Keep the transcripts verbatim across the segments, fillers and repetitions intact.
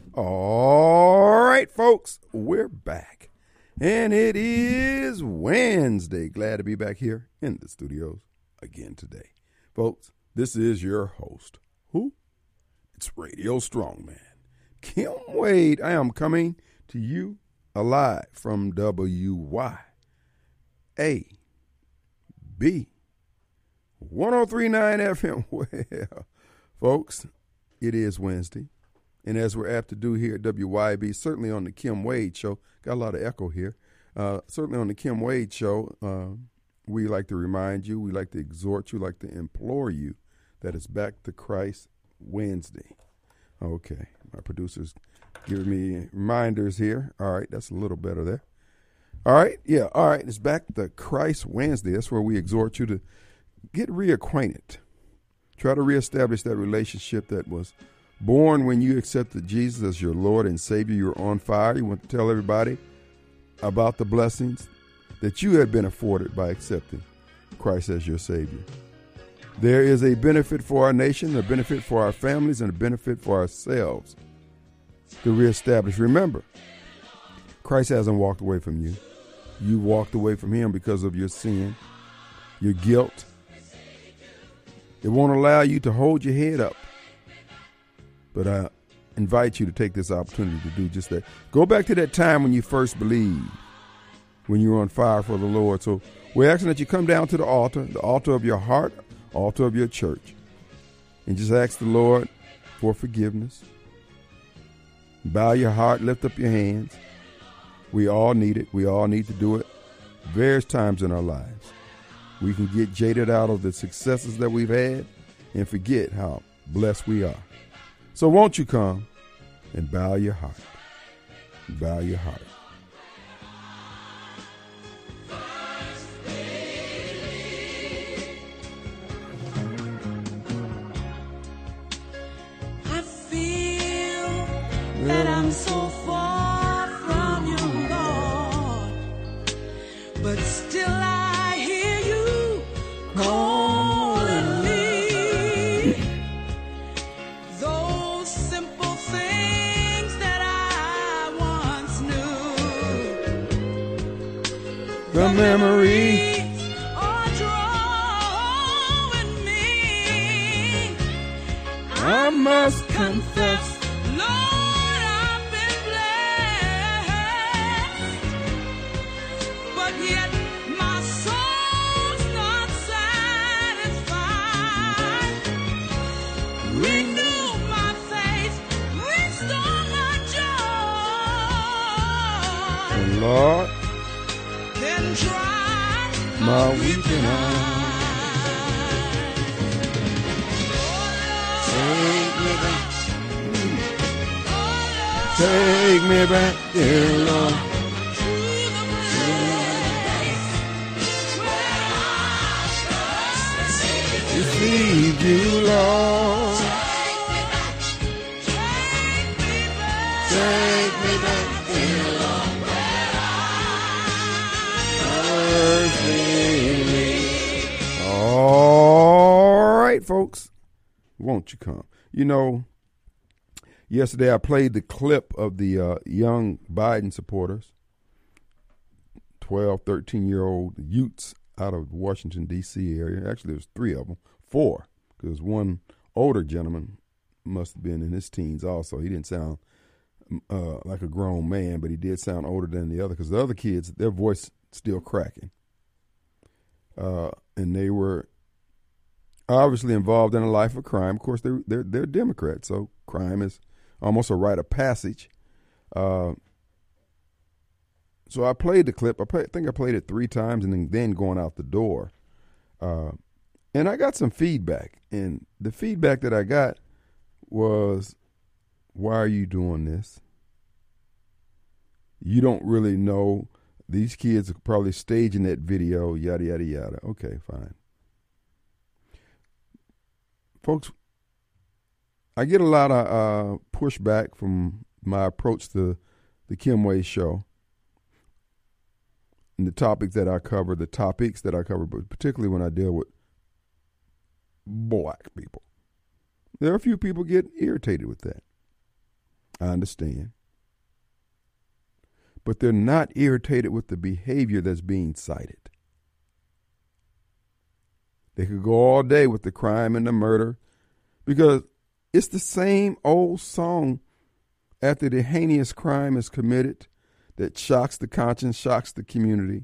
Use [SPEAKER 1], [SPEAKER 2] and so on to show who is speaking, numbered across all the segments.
[SPEAKER 1] All right, folks, we're back. And it is Wednesday. Glad to be back here in the studios again today. Folks, this is your host. Who? It's Radio Strongman. Kim Wade. I am coming to you alive from W Y A B one oh three point nine F M. Well, folks, it is Wednesday. And as we're apt to do here at W Y B, certainly on the Kim Wade Show, got a lot of echo here. Uh, certainly on the Kim Wade Show, uh, we like to remind you, we like to exhort you, like to implore you that it's Back to Christ Wednesday. Okay, my producer's giving me reminders here. All right, that's a little better there. All right, yeah, all right, it's Back to Christ Wednesday. That's where we exhort you to get reacquainted. Try to reestablish that relationship that was born when you accepted Jesus as your Lord and Savior. You're on fire. You want to tell everybody about the blessings that you had been afforded by accepting Christ as your Savior. There is a benefit for our nation, a benefit for our families, and a benefit for ourselves to reestablish. Remember, Christ hasn't walked away from you. You walked away from him because of your sin, your guilt. It won't allow you to hold your head up. But I invite you to take this opportunity to do just that. Go back to that time when you first believed, when you were on fire for the Lord. So we're asking that you come down to the altar, the altar of your heart, altar of your church, and just ask the Lord for forgiveness. Bow your heart, lift up your hands. We all need it. We all need to do it various times in our lives. We can get jaded out of the successes that we've had and forget how blessed we are. So won't you come and bow your heart, bow your heart.
[SPEAKER 2] I feel that I'm so far from you, Lord, but still I hear you calling me. Those simple things that I once knew,
[SPEAKER 1] The memory.
[SPEAKER 2] are drawing me.
[SPEAKER 1] I must confess.
[SPEAKER 2] Lord, I've been blessed, but yet my soul's not satisfied. Renew my faith, restore my joy,
[SPEAKER 1] And Lord,
[SPEAKER 2] then dry
[SPEAKER 1] my weeping eyes. Take me back. Take me back, dear Lord. Receive you, Lord. Take me back, dear Lord. All right, folks. Won't you come? You know, yesterday I played the clip of the uh, young Biden supporters, twelve, thirteen-year-old youths out of the Washington, D C area. Actually, there's three of them, four, because one older gentleman must have been in his teens also. He didn't sound uh, like a grown man, but he did sound older than the other, because the other kids, their voice still cracking. Uh, and they were obviously involved in a life of crime. Of course, they're, they're, they're Democrats, so crime is almost a rite of passage. Uh, so I played the clip. I, play, I think I played it three times and then, then going out the door. Uh, and I got some feedback. And the feedback that I got was, why are you doing this? You don't really know. These kids are probably staging that video, yada, yada, yada. Okay, fine. Folks, I get a lot of uh, pushback from my approach to the Kim Wade Show and the topics that I cover, the topics that I cover, but particularly when I deal with black people. There are a few people get irritated with that. I understand. But they're not irritated with the behavior that's being cited. They could go all day with the crime and the murder because it's the same old song after the heinous crime is committed that shocks the conscience, shocks the community.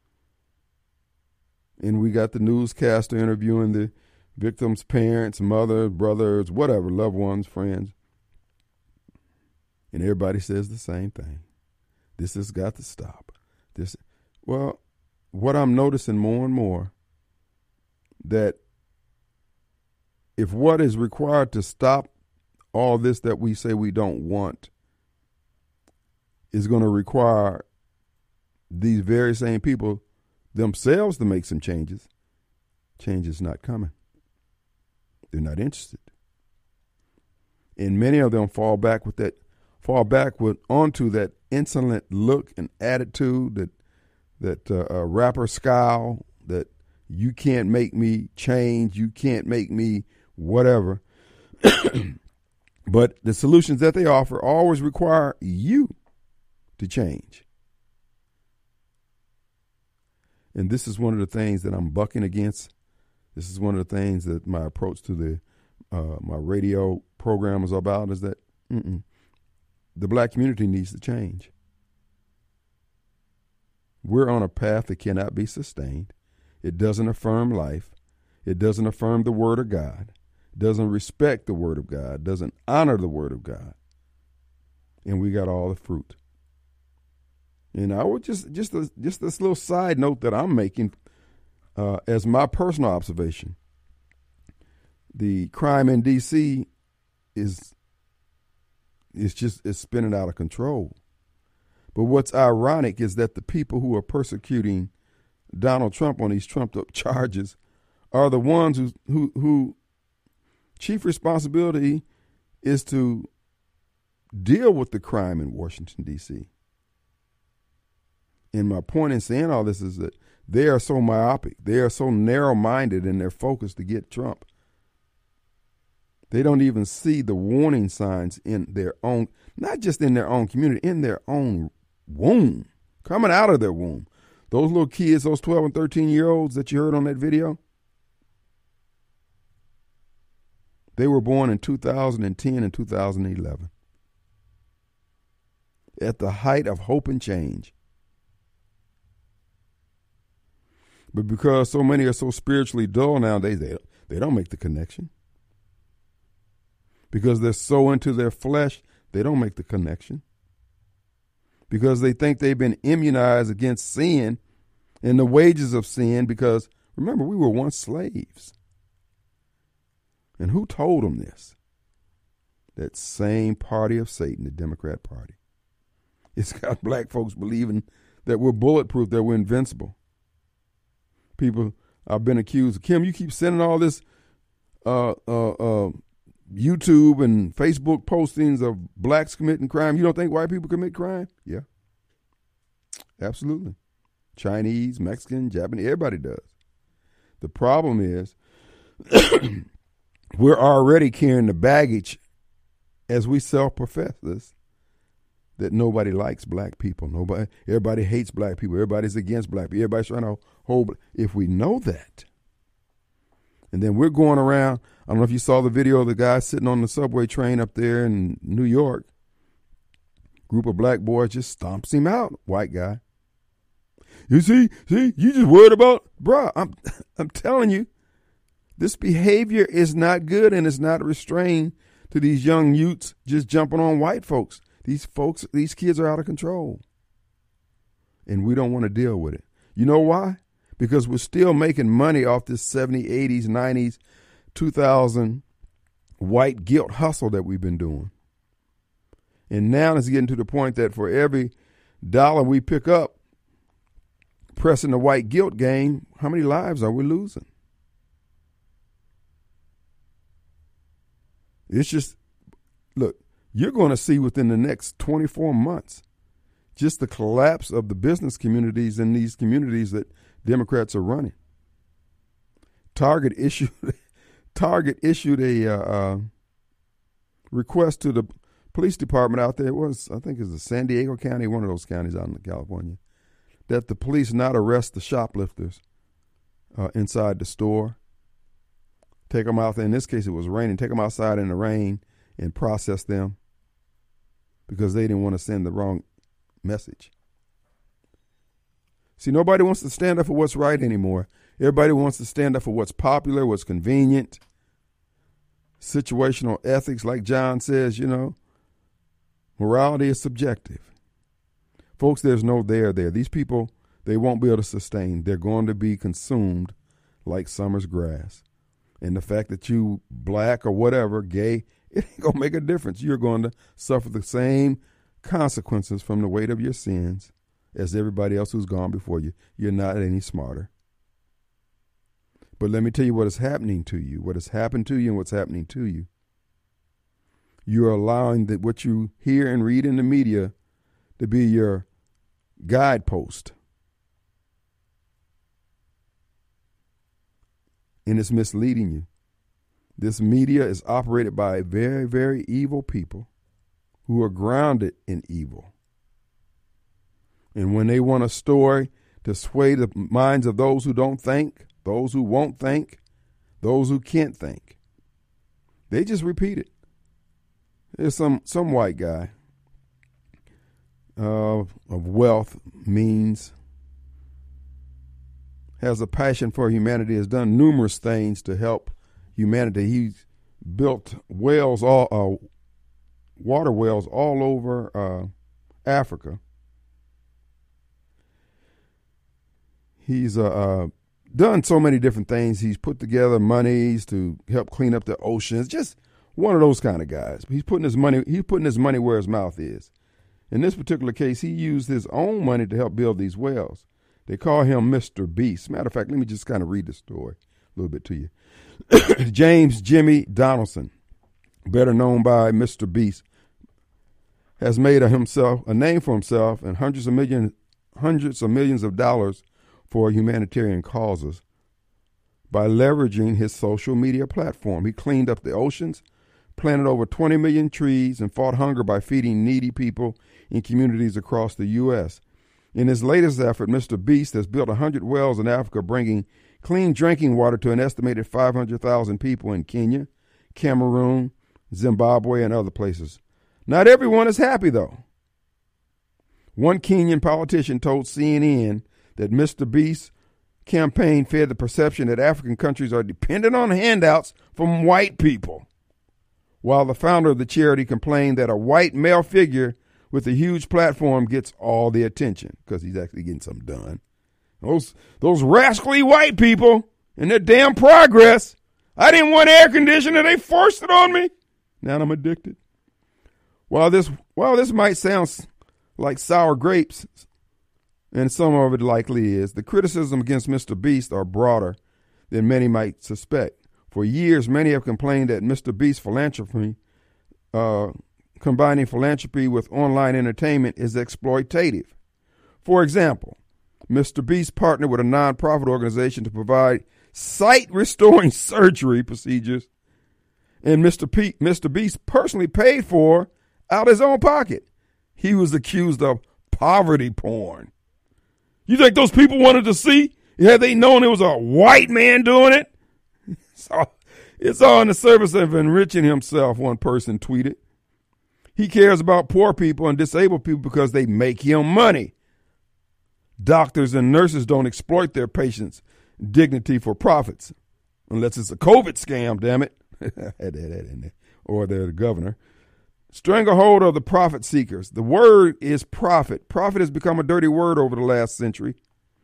[SPEAKER 1] And we got the newscaster interviewing the victim's parents, mother, brothers, whatever, loved ones, friends. And everybody says the same thing. This has got to stop. This, well, what I'm noticing more and more, that if what is required to stop all this that we say we don't want is going to require these very same people themselves to make some changes, change is not coming. They're not interested. And many of them fall back with that, fall back with onto that insolent look and attitude, that that uh, uh, rapper scowl, that you can't make me change, you can't make me whatever. But the solutions that they offer always require you to change. And this is one of the things that I'm bucking against. This is one of the things that my approach to the uh, my radio program is about, is that mm-mm, the black community needs to change. We're on a path that cannot be sustained. It doesn't affirm life. It doesn't affirm the word of God. It doesn't respect the word of God. It doesn't honor the word of God. And we got all the fruit. And I would just, just, a, just this little side note that I'm making uh, as my personal observation. The crime in D C is, is just, it's spinning out of control. But what's ironic is that the people who are persecuting Donald Trump on these trumped up charges are the ones who, who, who chief responsibility is to deal with the crime in Washington, D C. And my point in saying all this is that they are so myopic. They are so narrow-minded in their focus to get Trump. They don't even see the warning signs in their own, not just in their own community, in their own womb, coming out of their womb. Those little kids, those twelve and thirteen year olds that you heard on that video, they were born in two thousand ten and two thousand eleven. At the height of hope and change. But because so many are so spiritually dull nowadays, they, they don't make the connection. Because they're so into their flesh, they don't make the connection. Because they think they've been immunized against sin and the wages of sin, because remember, we were once slaves. And who told them this? That same party of Satan, the Democrat Party. It's got black folks believing that we're bulletproof, that we're invincible. People, I've been accused, Kim, you keep sending all this uh, uh, uh, YouTube and Facebook postings of blacks committing crime. You don't think white people commit crime? Yeah. Absolutely. Chinese, Mexican, Japanese, everybody does. The problem is we're already carrying the baggage as we self-profess this, that nobody likes black people. Nobody, everybody hates black people. Everybody's against black people. Everybody's trying to hold. If we know that, and then we're going around, I don't know if you saw the video of the guy sitting on the subway train up there in New York. Group of black boys just stomps him out. White guy. You see, see, you just worried about, bruh, I'm, I'm telling you, this behavior is not good, and it's not restrained to these young youths just jumping on white folks. These folks, these kids are out of control. And we don't want to deal with it. You know why? Because we're still making money off this seventies, eighties, nineties, two thousand white guilt hustle that we've been doing. And now it's getting to the point that for every dollar we pick up pressing the white guilt game, how many lives are we losing? It's just, look, you're going to see within the next twenty-four months just the collapse of the business communities in these communities that Democrats are running. Target issued Target issued a uh, uh, request to the police department out there, it was, I think it's the San Diego County, one of those counties out in California, that the police not arrest the shoplifters uh, inside the store. Take them out there. In this case, it was raining. Take them outside in the rain and process them because they didn't want to send the wrong message. See, nobody wants to stand up for what's right anymore. Everybody wants to stand up for what's popular, what's convenient. Situational ethics, like John says, you know. Morality is subjective. Folks, there's no there there. These people, they won't be able to sustain. They're going to be consumed like summer's grass. And the fact that you black or whatever, gay, it ain't going to make a difference. You're going to suffer the same consequences from the weight of your sins as everybody else who's gone before you. You're not any smarter. But let me tell you what is happening to you, what has happened to you and what's happening to you. You're allowing that what you hear and read in the media to be your guidepost. And it's misleading you. This media is operated by very, very evil people who are grounded in evil. And when they want a story to sway the minds of those who don't think, those who won't think, those who can't think, they just repeat it. There's some, some white guy uh, of wealth, means, has a passion for humanity, has done numerous things to help humanity. He's built wells, all uh, water wells all over uh, Africa. He's uh, uh, done so many different things. He's put together monies to help clean up the oceans. Just one of those kind of guys. He's putting his money. He's putting his money where his mouth is. In this particular case, he used his own money to help build these wells. They call him Mister Beast. Matter of fact, let me just kind of read the story a little bit to you. James Jimmy Donaldson, better known by Mister Beast, has made a himself a name for himself and hundreds of millions, hundreds of millions of dollars for humanitarian causes by leveraging his social media platform. He cleaned up the oceans, planted over twenty million trees, and fought hunger by feeding needy people in communities across the U S In his latest effort, Mister Beast has built one hundred wells in Africa, bringing clean drinking water to an estimated five hundred thousand people in Kenya, Cameroon, Zimbabwe, and other places. Not everyone is happy, though. One Kenyan politician told C N N that Mister Beast's campaign fed the perception that African countries are dependent on handouts from white people, while the founder of the charity complained that a white male figure with a huge platform gets all the attention because he's actually getting something done. Those, those rascally white people and their damn progress. I didn't want air conditioning. They forced it on me. Now I'm addicted. While this, while this might sound like sour grapes, and some of it likely is, the criticism against Mister Beast are broader than many might suspect. For years, many have complained that Mister Beast's philanthropy, uh, combining philanthropy with online entertainment, is exploitative. For example, Mister Beast partnered with a nonprofit organization to provide sight-restoring surgery procedures, and Mister P- Mister Beast personally paid for out of his own pocket. He was accused of poverty porn. You think those people wanted to see? Had they known it was a white man doing it? So it's all in the service of enriching himself, one person tweeted. He cares about poor people and disabled people because they make him money. Doctors and nurses don't exploit their patients' dignity for profits, unless it's a COVID scam, damn it. Had that in there. Or they're the governor. Stranglehold of the profit seekers. The word is profit. Profit has become a dirty word over the last century.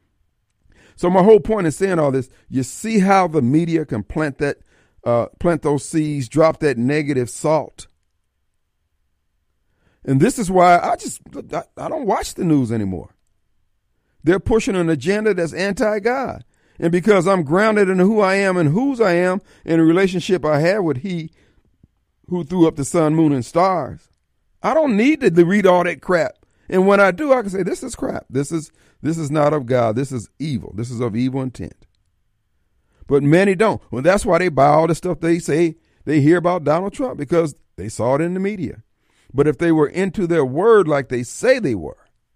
[SPEAKER 1] So my whole point in saying all this, you see how the media can plant that, uh, plant those seeds, drop that negative salt. And this is why I just, I, I don't watch the news anymore. They're pushing an agenda that's anti-God. And because I'm grounded in who I am and whose I am and the relationship I have with He who threw up the sun, moon, and stars, I don't need to read all that crap. And when I do, I can say, this is crap. This is this is not of God. This is evil. This is of evil intent. But many don't. Well, that's why they buy all the stuff they say they hear about Donald Trump, because they saw it in the media. But if they were into their word like they say they were,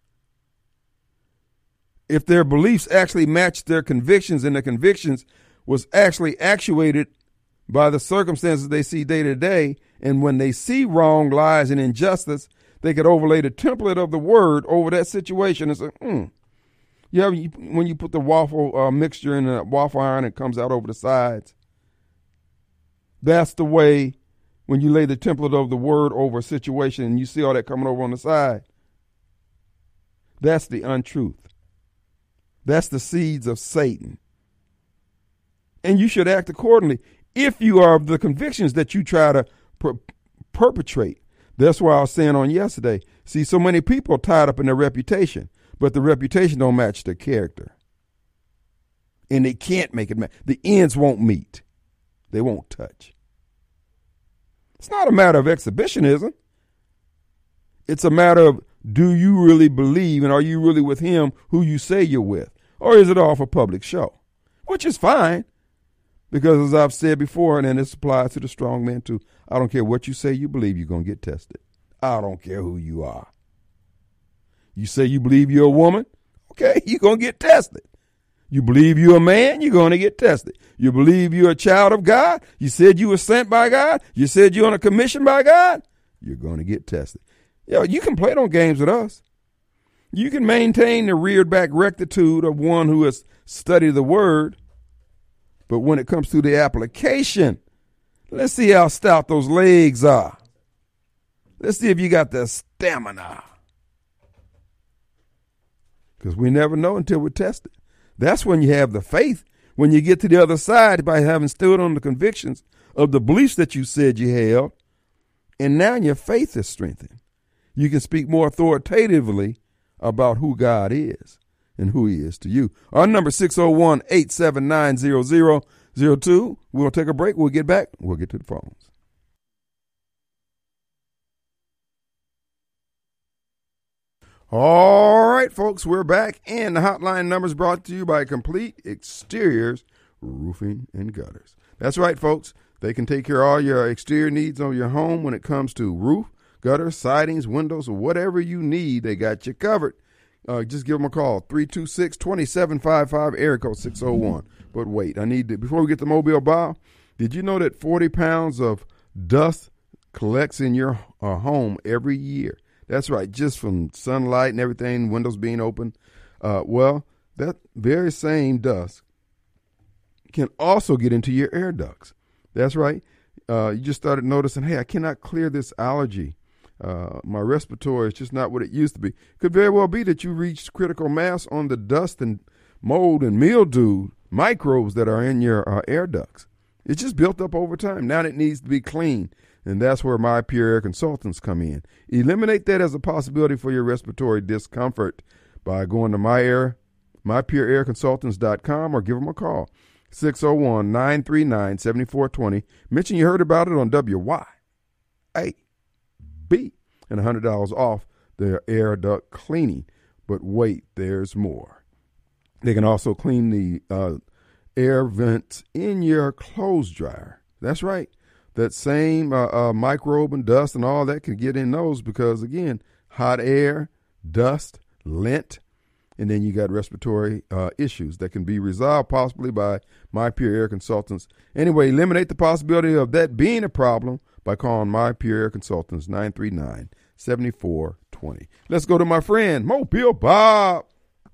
[SPEAKER 1] if their beliefs actually matched their convictions and their convictions was actually actuated by the circumstances they see day to day, and when they see wrong, lies, and injustice, they could overlay the template of the word over that situation and say, hmm. You know, when you put the waffle uh, mixture in a waffle iron, it comes out over the sides. That's the way when you lay the template of the word over a situation and you see all that coming over on the side. That's the untruth. That's the seeds of Satan. And you should act accordingly if you are of the convictions that you try to per- perpetrate. That's why I was saying on yesterday, see, so many people are tied up in their reputation, but the reputation don't match their character. And they can't make it match. The ends won't meet. They won't touch. It's not a matter of exhibitionism. It's a matter of, do you really believe and are you really with him who you say you're with? Or is it all for public show? Which is fine. Because as I've said before, and this applies to the strong man too, I don't care what you say you believe, you're going to get tested. I don't care who you are. You say you believe you're a woman? Okay, you're going to get tested. You believe you're a man? You're going to get tested. You believe you're a child of God? You said you were sent by God? You said you're on a commission by God? You're going to get tested. You know, you can play those games with us. You can maintain the reared back rectitude of one who has studied the word. But when it comes to the application, let's see how stout those legs are. Let's see if you got the stamina. Because we never know until we're tested. That's when you have the faith. When you get to the other side by having stood on the convictions of the beliefs that you said you held, and now your faith is strengthened. You can speak more authoritatively about who God is and who he is to you. Our number six oh one, eight seven nine, zero zero zero two. We'll take a break. We'll get back. We'll get to the phones. All right, folks, we're back, and the hotline number is brought to you by Complete Exteriors Roofing and Gutters. That's right, folks. They can take care of all your exterior needs on your home when it comes to roof, gutters, sidings, windows, or whatever you need. They got you covered. Uh, just give them a call, three two six, two seven five five, area code six oh one. But wait, I need to, before we get to Mobile Bob, did you know that forty pounds of dust collects in your uh, home every year? That's right, just from sunlight and everything, windows being open. Uh, well, that very same dust can also get into your air ducts. That's right. Uh, you just started noticing, hey, I cannot clear this allergy. Uh, my respiratory is just not what it used to be. Could very well be that you reached critical mass on the dust and mold and mildew microbes that are in your uh, air ducts. It's just built up over time. Now it needs to be cleaned. And that's where My Pure Air Consultants come in. Eliminate that as a possibility for your respiratory discomfort by going to my air, my pure air consultants dot com or give them a call, six oh one, nine three nine, seven four two oh. Mention you heard about it on W Y A B and one hundred dollars off their air duct cleaning. But wait, there's more. They can also clean the uh, air vents in your clothes dryer. That's right. That same uh, uh, microbe and dust and all that can get in those because, again, hot air, dust, lint, and then you got respiratory uh, issues that can be resolved possibly by My Pure Air Consultants. Anyway, eliminate the possibility of that being a problem by calling My Pure Air Consultants, nine three nine, seven four two oh. Let's go to my friend, Mobile Bob.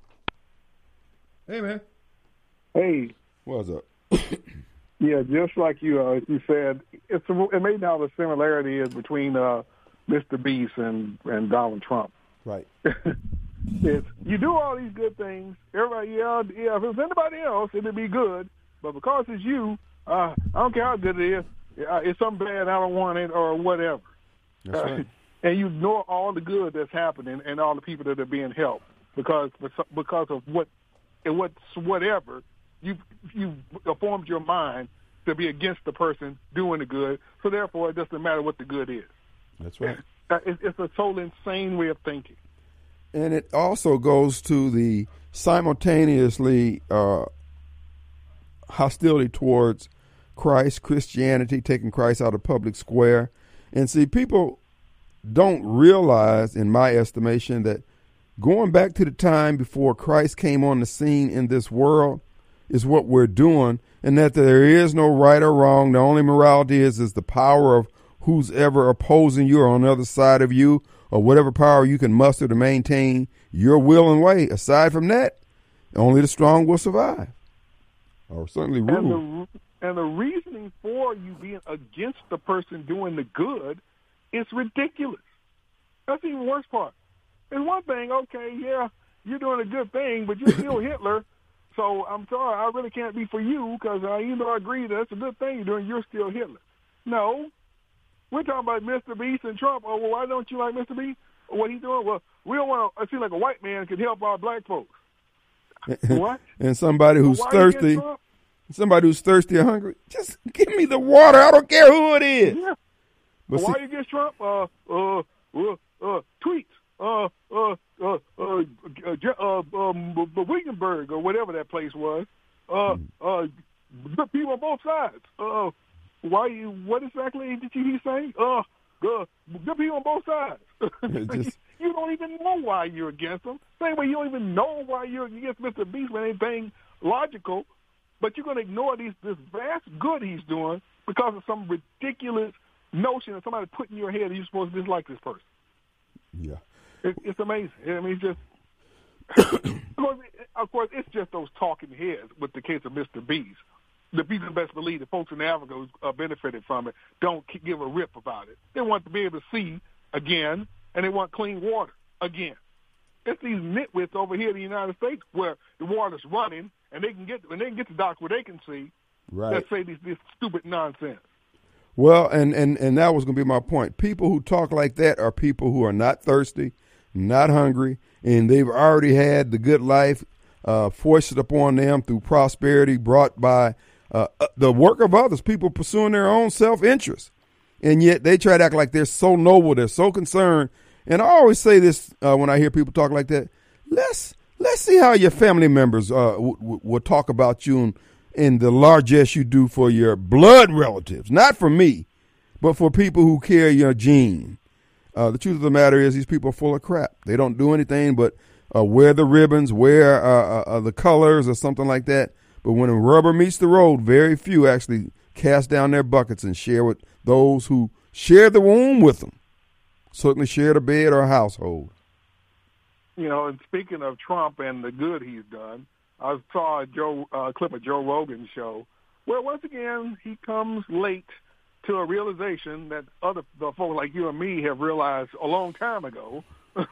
[SPEAKER 1] Hey, man.
[SPEAKER 3] Hey.
[SPEAKER 1] What's up?
[SPEAKER 3] Yeah, just like you, uh, you said, it's a, it may now the similarity is between uh, Mister Beast and, and Donald Trump.
[SPEAKER 1] Right.
[SPEAKER 3] It's, you do all these good things. Everybody, yeah, yeah. If it was anybody else, it'd be good. But because it's you, uh, I don't care how good it is. Uh, it's something bad. I don't want it, or whatever.
[SPEAKER 1] That's right.
[SPEAKER 3] Uh, and you ignore all the good that's happening and all the people that are being helped because because of what and what's whatever. You you formed your mind to be against the person doing the good, so therefore it doesn't matter what the good is.
[SPEAKER 1] That's right.
[SPEAKER 3] It's, it's a total insane way of thinking.
[SPEAKER 1] And it also goes to the simultaneously uh, hostility towards Christ, Christianity, taking Christ out of public square. And see, people don't realize, in my estimation, that going back to the time before Christ came on the scene in this world is what we're doing, and that there is no right or wrong. The only morality is is the power of who's ever opposing you or on the other side of you, or whatever power you can muster to maintain your will and way. Aside from that, only the strong will survive, or certainly rule.
[SPEAKER 3] And the, and the reasoning for you being against the person doing the good is ridiculous. That's the even worse part. It's one thing, okay, yeah, you're doing a good thing, but you're still Hitler. So I'm sorry, I really can't be for you because uh, even though I agree that that's a good thing you're doing, you're still Hitler. No, we're talking about Mister Beast and Trump. Oh, well, why don't you like Mister Beast? What he's doing? Well, we don't want to seem like a white man could help our black folks. What?
[SPEAKER 1] And somebody who's
[SPEAKER 3] so why you against
[SPEAKER 1] thirsty,
[SPEAKER 3] Trump?
[SPEAKER 1] somebody who's thirsty or hungry, just give me the water. I don't care who it is.
[SPEAKER 3] Yeah.
[SPEAKER 1] But
[SPEAKER 3] Why
[SPEAKER 1] see,
[SPEAKER 3] you against Trump? Uh, uh, uh, uh, tweets. Uh, uh, uh, uh, uh, uh, um, Wiggenberg or whatever that place was. Uh, uh, good people on both sides. Uh, why you? What exactly did you say? Uh, uh, good people on both sides.
[SPEAKER 1] Just-
[SPEAKER 3] You don't even know why you're against them. Same way you don't even know why you're against Mister Beast with anything logical, but you're going to ignore these this vast good he's doing because of some ridiculous notion that somebody put in your head that you're supposed to dislike this person.
[SPEAKER 1] yeah.
[SPEAKER 3] It, it's amazing. I mean, it's just of, course, of course, it's just those talking heads with the case of Mister Beast. The people best believe the folks in Africa who uh, benefited from it don't give a rip about it. They want to be able to see again, and they want clean water again. It's these nitwits over here in the United States where the water's running, and they can get and they can get the dock where they can see.
[SPEAKER 1] Right.
[SPEAKER 3] That say these this stupid nonsense.
[SPEAKER 1] Well, and, and, and that was going to be my point. People who talk like that are people who are not thirsty, not hungry, and they've already had the good life uh, foisted upon them through prosperity brought by uh, the work of others, people pursuing their own self-interest. And yet they try to act like they're so noble, they're so concerned. And I always say this uh, when I hear people talk like that, let's let's see how your family members uh, w- w- will talk about you and, and the largesse you do for your blood relatives, not for me, but for people who carry your gene. Uh, the truth of the matter is these people are full of crap. They don't do anything but uh, wear the ribbons, wear uh, uh, the colors or something like that. But when the rubber meets the road, very few actually cast down their buckets and share with those who share the womb with them. Certainly share the bed or a household.
[SPEAKER 3] You know, and speaking of Trump and the good he's done, I saw a Joe uh, clip of Joe Rogan's show where once again he comes late to a realization that other the folks like you and me have realized a long time ago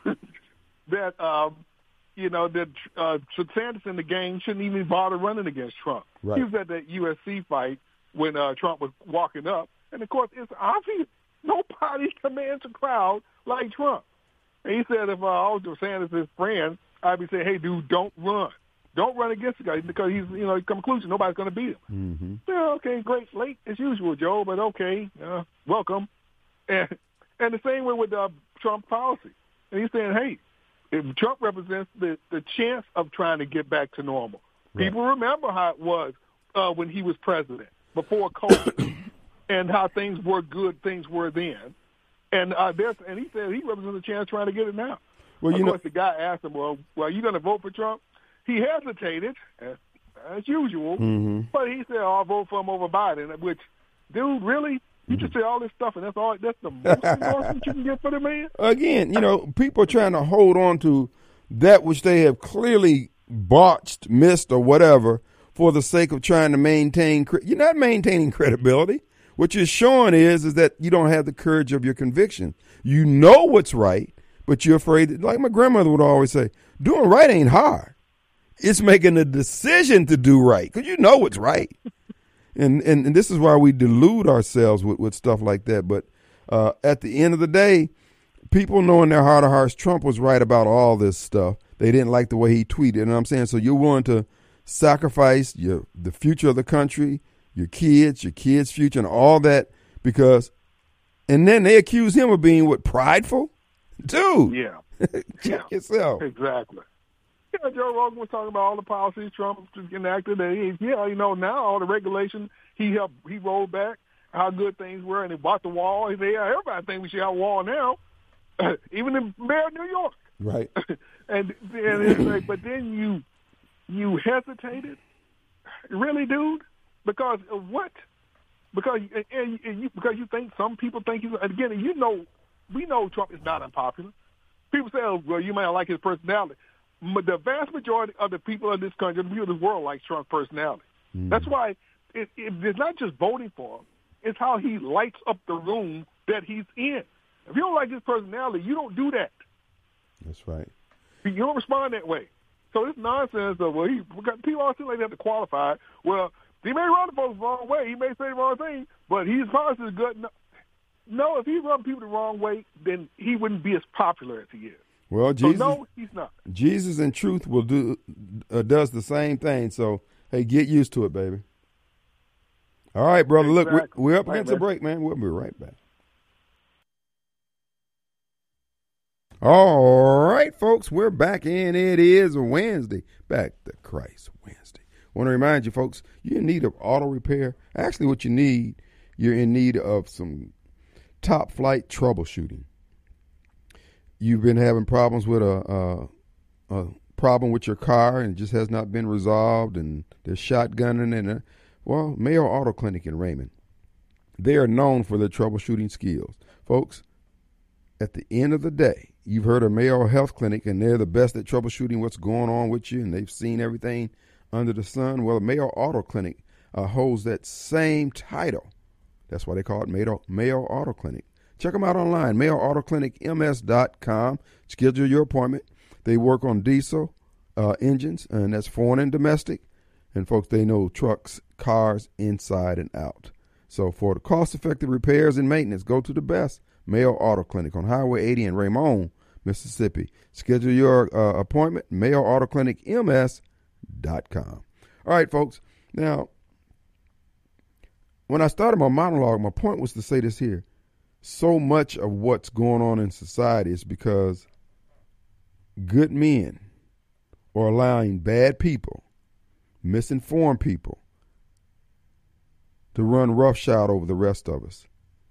[SPEAKER 3] that um, you know that uh, Sanders and the gang shouldn't even bother running against Trump.
[SPEAKER 1] Right.
[SPEAKER 3] He was at that U F C fight when uh, Trump was walking up, and of course it's obvious nobody commands a crowd like Trump. And he said if uh, I was Sanders' his friend, I'd be saying, hey, dude, don't run. Don't run against the guy because he's, you know, he come conclusion nobody's going to beat him.
[SPEAKER 1] Mm-hmm.
[SPEAKER 3] Yeah, okay, great, late as usual, Joe, but okay, uh, welcome. And and the same way with uh, Trump policy. And he's saying, hey, if Trump represents the, the chance of trying to get back to normal.
[SPEAKER 1] Right.
[SPEAKER 3] People remember how it was uh, when he was president, before COVID, and how things were good, things were then. And uh, there's, and he said he represents a chance trying to get it now.
[SPEAKER 1] Well,
[SPEAKER 3] of
[SPEAKER 1] you
[SPEAKER 3] course,
[SPEAKER 1] know,
[SPEAKER 3] the guy asked him, well, well, are you going to vote for Trump? He hesitated, as, as usual,
[SPEAKER 1] mm-hmm.
[SPEAKER 3] but he said, oh, I'll vote for him over Biden, which, dude, really? You just say all this stuff, and that's all. That's the most endorsement you can get for the man?
[SPEAKER 1] Again, you know, people are trying to hold on to that which they have clearly botched, missed, or whatever for the sake of trying to maintain. You're not maintaining credibility. What you're showing is, is that you don't have the courage of your conviction. You know what's right, but you're afraid. Like my grandmother would always say, doing right ain't hard. It's making a decision to do right because you know what's right. And, and and this is why we delude ourselves with, with stuff like that. But uh, at the end of the day, people know in their heart of hearts Trump was right about all this stuff. They didn't like the way he tweeted. You know what I'm saying? So you're willing to sacrifice your the future of the country, your kids, your kids' future, and all that because, and then they accuse him of being what, prideful? Dude.
[SPEAKER 3] Yeah.
[SPEAKER 1] Check
[SPEAKER 3] yeah.
[SPEAKER 1] yourself.
[SPEAKER 3] Exactly. Yeah, Joe Rogan was talking about all the policies Trump enacted. And he, yeah, you know, now all the regulations he helped, he rolled back, how good things were, and he bought the wall. He said, yeah, everybody thinks we should have a wall now. even the mayor of New York.
[SPEAKER 1] Right.
[SPEAKER 3] and and it's like, but then you you hesitated, really, dude, because of what? Because and, and you because you think some people think you again. You know, we know Trump is not unpopular. People say, "Oh, well, you might not like his personality." But the vast majority of the people in this country, the people in this world, like Trump's personality. Mm. That's why it, it, it's not just voting for him; it's how he lights up the room that he's in. If you don't like his personality, you don't do that.
[SPEAKER 1] That's right.
[SPEAKER 3] You don't respond that way. So this nonsense of, well, he, people always seem like they have to qualify. Well, he may run the folks the wrong way. He may say the wrong thing, but he's policy is good. No, no, if he run people the wrong way, then he wouldn't be as popular as he is.
[SPEAKER 1] Well, Jesus,
[SPEAKER 3] so no, he's not.
[SPEAKER 1] Jesus in truth will do uh, does the same thing. So, hey, get used to it, baby. All right, brother. Exactly. Look, we're, we're up against right, a break, man. We'll be right back. All right, folks, we're back, and it is Wednesday. Back to Christ Wednesday. I want to remind you, folks, you're in need of auto repair. Actually, what you need, you're in need of some top-flight troubleshooting. You've been having problems with a, a, a problem with your car, and it just has not been resolved, and there's shotgunning, and, a, well, Mayo Auto Clinic in Raymond. They are known for their troubleshooting skills. Folks, at the end of the day, you've heard of Mayo Health Clinic, and they're the best at troubleshooting what's going on with you, and they've seen everything under the sun. Well, Mayo Auto Clinic uh, holds that same title. That's why they call it Mayo, Mayo Auto Clinic. Check them out online, mayo auto clinic m s dot com. Schedule your appointment. They work on diesel uh, engines, and that's foreign and domestic. And, folks, they know trucks, cars, inside and out. So for the cost-effective repairs and maintenance, go to the best, Mayo Auto Clinic on Highway eighty in Raymond, Mississippi. Schedule your uh, appointment, mayo auto clinic m s dot com. All right, folks. Now, when I started my monologue, my point was to say this here. So much of what's going on in society is because good men are allowing bad people, misinformed people, to run roughshod over the rest of us.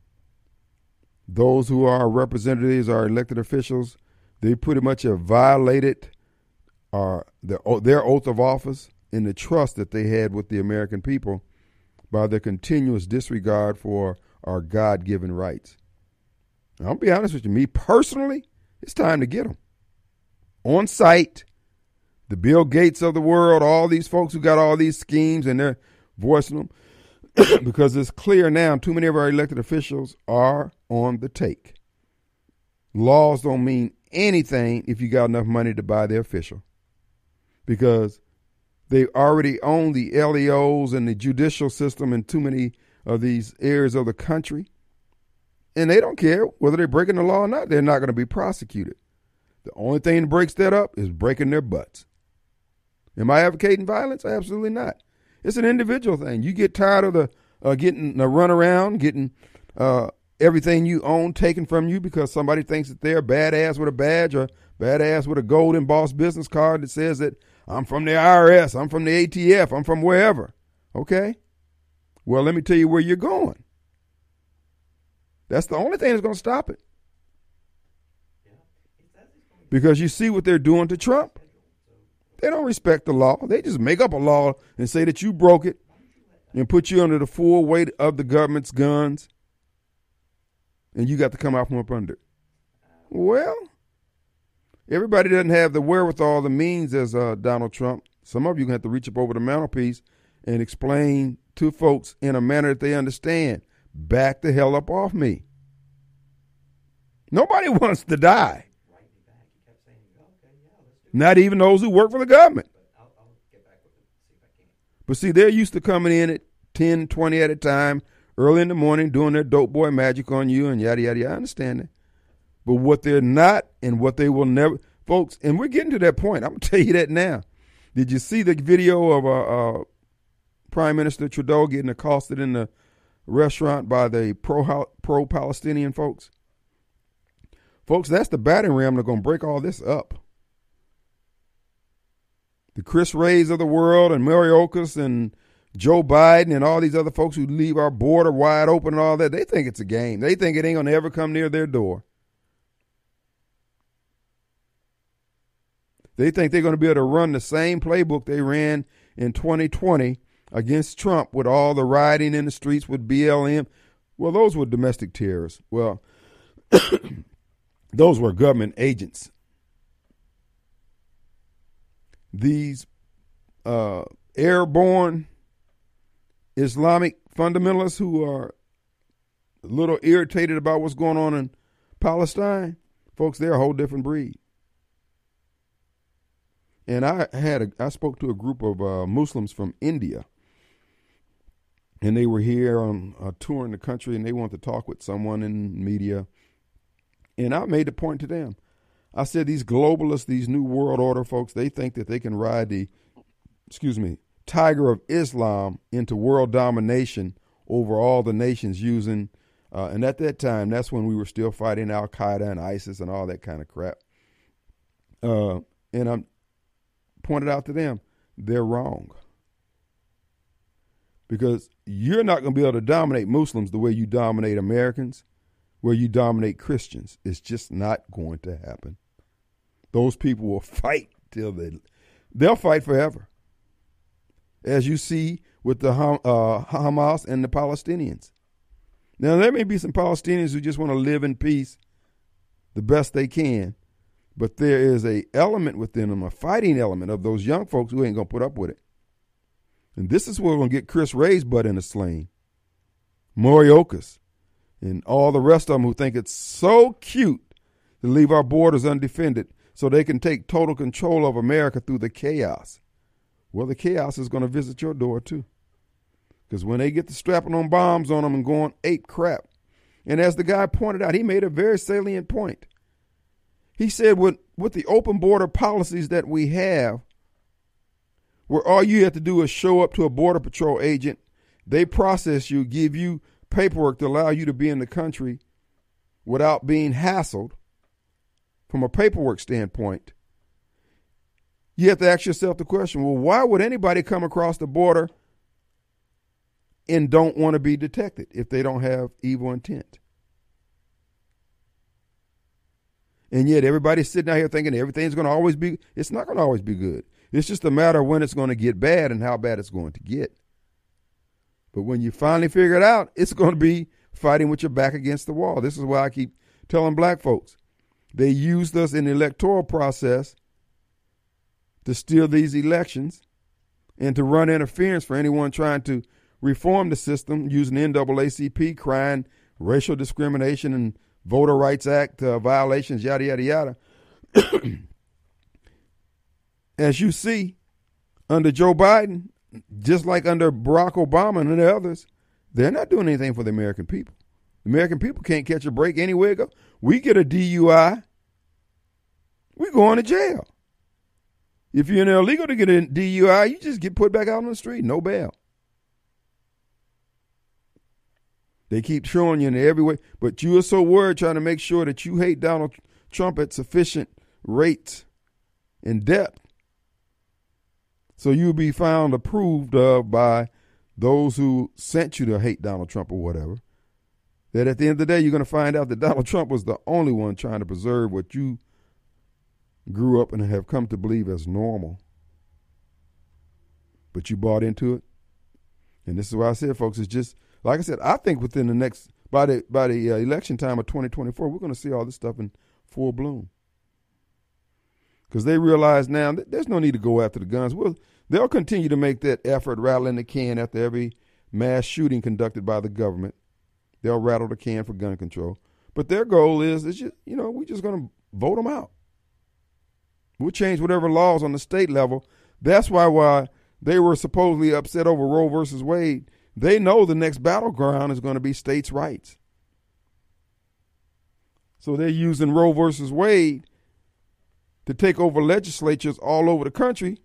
[SPEAKER 1] Those who are representatives, our elected officials, they pretty much have violated our, their, their oath of office and the trust that they had with the American people by their continuous disregard for our God-given rights. I'll be honest with you, me personally, it's time to get them. On site, the Bill Gates of the world, all these folks who got all these schemes and they're voicing them, because it's clear now too many of our elected officials are on the take. Laws don't mean anything if you got enough money to buy the official, because they already own the L E Os and the judicial system in too many of these areas of the country. And they don't care whether they're breaking the law or not. They're not going to be prosecuted. The only thing that breaks that up is breaking their butts. Am I advocating violence? Absolutely not. It's an individual thing. You get tired of the uh, getting the runaround, getting uh, everything you own taken from you because somebody thinks that they're badass with a badge or badass with a gold embossed business card that says that I'm from the I R S, I'm from the A T F, I'm from wherever. Okay? Well, let me tell you where you're going. That's the only thing that's going to stop it. Because you see what they're doing to Trump. They don't respect the law. They just make up a law and say that you broke it and put you under the full weight of the government's guns. And you got to come out from up under it. Well, everybody doesn't have the wherewithal, the means as uh, Donald Trump. Some of you have to reach up over the mantelpiece and explain to folks in a manner that they understand. Back the hell up off me. Nobody wants to die. Not even those who work for the government. But see, they're used to coming in at ten, twenty at a time, early in the morning, doing their dope boy magic on you and yada, yada, yada. I understand that. But what they're not and what they will never, folks, and we're getting to that point. I'm going to tell you that now. Did you see the video of uh, uh, Prime Minister Trudeau getting accosted in the restaurant by the pro pro-Palestinian folks? Folks, that's the battering ram that's going to break all this up. The Chris Wrays of the world and Mayorkas and Joe Biden and all these other folks who leave our border wide open and all that, they think it's a game. They think it ain't going to ever come near their door. They think they're going to be able to run the same playbook they ran in twenty twenty against Trump with all the rioting in the streets with B L M. Well, those were domestic terrorists. Well, those were government agents. These uh, airborne Islamic fundamentalists who are a little irritated about what's going on in Palestine, folks, they're a whole different breed. And I had a, I spoke to a group of uh, Muslims from India, and they were here on a tour in the country, and they wanted to talk with someone in media. And I made the point to them. I said, these globalists, these new world order folks, they think that they can ride the, excuse me, tiger of Islam into world domination over all the nations using, uh, and at that time, that's when we were still fighting Al-Qaeda and ISIS and all that kind of crap. Uh, and I'm pointed out to them, they're wrong. Because you're not going to be able to dominate Muslims the way you dominate Americans, where you dominate Christians. It's just not going to happen. Those people will fight till they, they'll fight forever. As you see with the uh, Hamas and the Palestinians. Now, there may be some Palestinians who just want to live in peace the best they can, but there is a element within them, a fighting element of those young folks who ain't going to put up with it. And this is where we're going to get Chris Wray's butt in a sling. Mayorkas and all the rest of them who think it's so cute to leave our borders undefended so they can take total control of America through the chaos. Well, the chaos is going to visit your door too. Because when they get to strapping on bombs on them and going ape crap. And as the guy pointed out, he made a very salient point. He said with, with the open border policies that we have, where all you have to do is show up to a border patrol agent, they process you, give you paperwork to allow you to be in the country without being hassled from a paperwork standpoint. You have to ask yourself the question, well, why would anybody come across the border and don't want to be detected if they don't have evil intent? And yet everybody's sitting out here thinking everything's going to always be, it's not going to always be good. It's just a matter of when it's going to get bad and how bad it's going to get. But when you finally figure it out, it's going to be fighting with your back against the wall. This is why I keep telling black folks. They used us in the electoral process to steal these elections and to run interference for anyone trying to reform the system using the N double A C P, crying racial discrimination and Voter Rights Act uh, violations, yada, yada, yada. As you see, under Joe Biden, just like under Barack Obama and the others, they're not doing anything for the American people. The American people can't catch a break anywhere go. We get a D U I, we go to jail. If you're illegal to get a D U I, you just get put back out on the street, no bail. They keep showing you in every way, but you are so worried trying to make sure that you hate Donald Trump at sufficient rates and depth so you'll be found approved of by those who sent you to hate Donald Trump or whatever, that at the end of the day, you're going to find out that Donald Trump was the only one trying to preserve what you grew up and have come to believe as normal. But you bought into it. And this is why I said, folks, it's just, like I said, I think within the next, by the by the uh, election time of twenty twenty-four, we're going to see all this stuff in full bloom. Because they realize now that there's no need to go after the guns. Well, they'll continue to make that effort, rattling the can after every mass shooting conducted by the government. They'll rattle the can for gun control. But their goal is, is just, you know, we're just going to vote them out. We'll change whatever laws on the state level. That's why why they were supposedly upset over Roe versus Wade. They know the next battleground is going to be states' rights. So they're using Roe versus Wade to take over legislatures all over the country.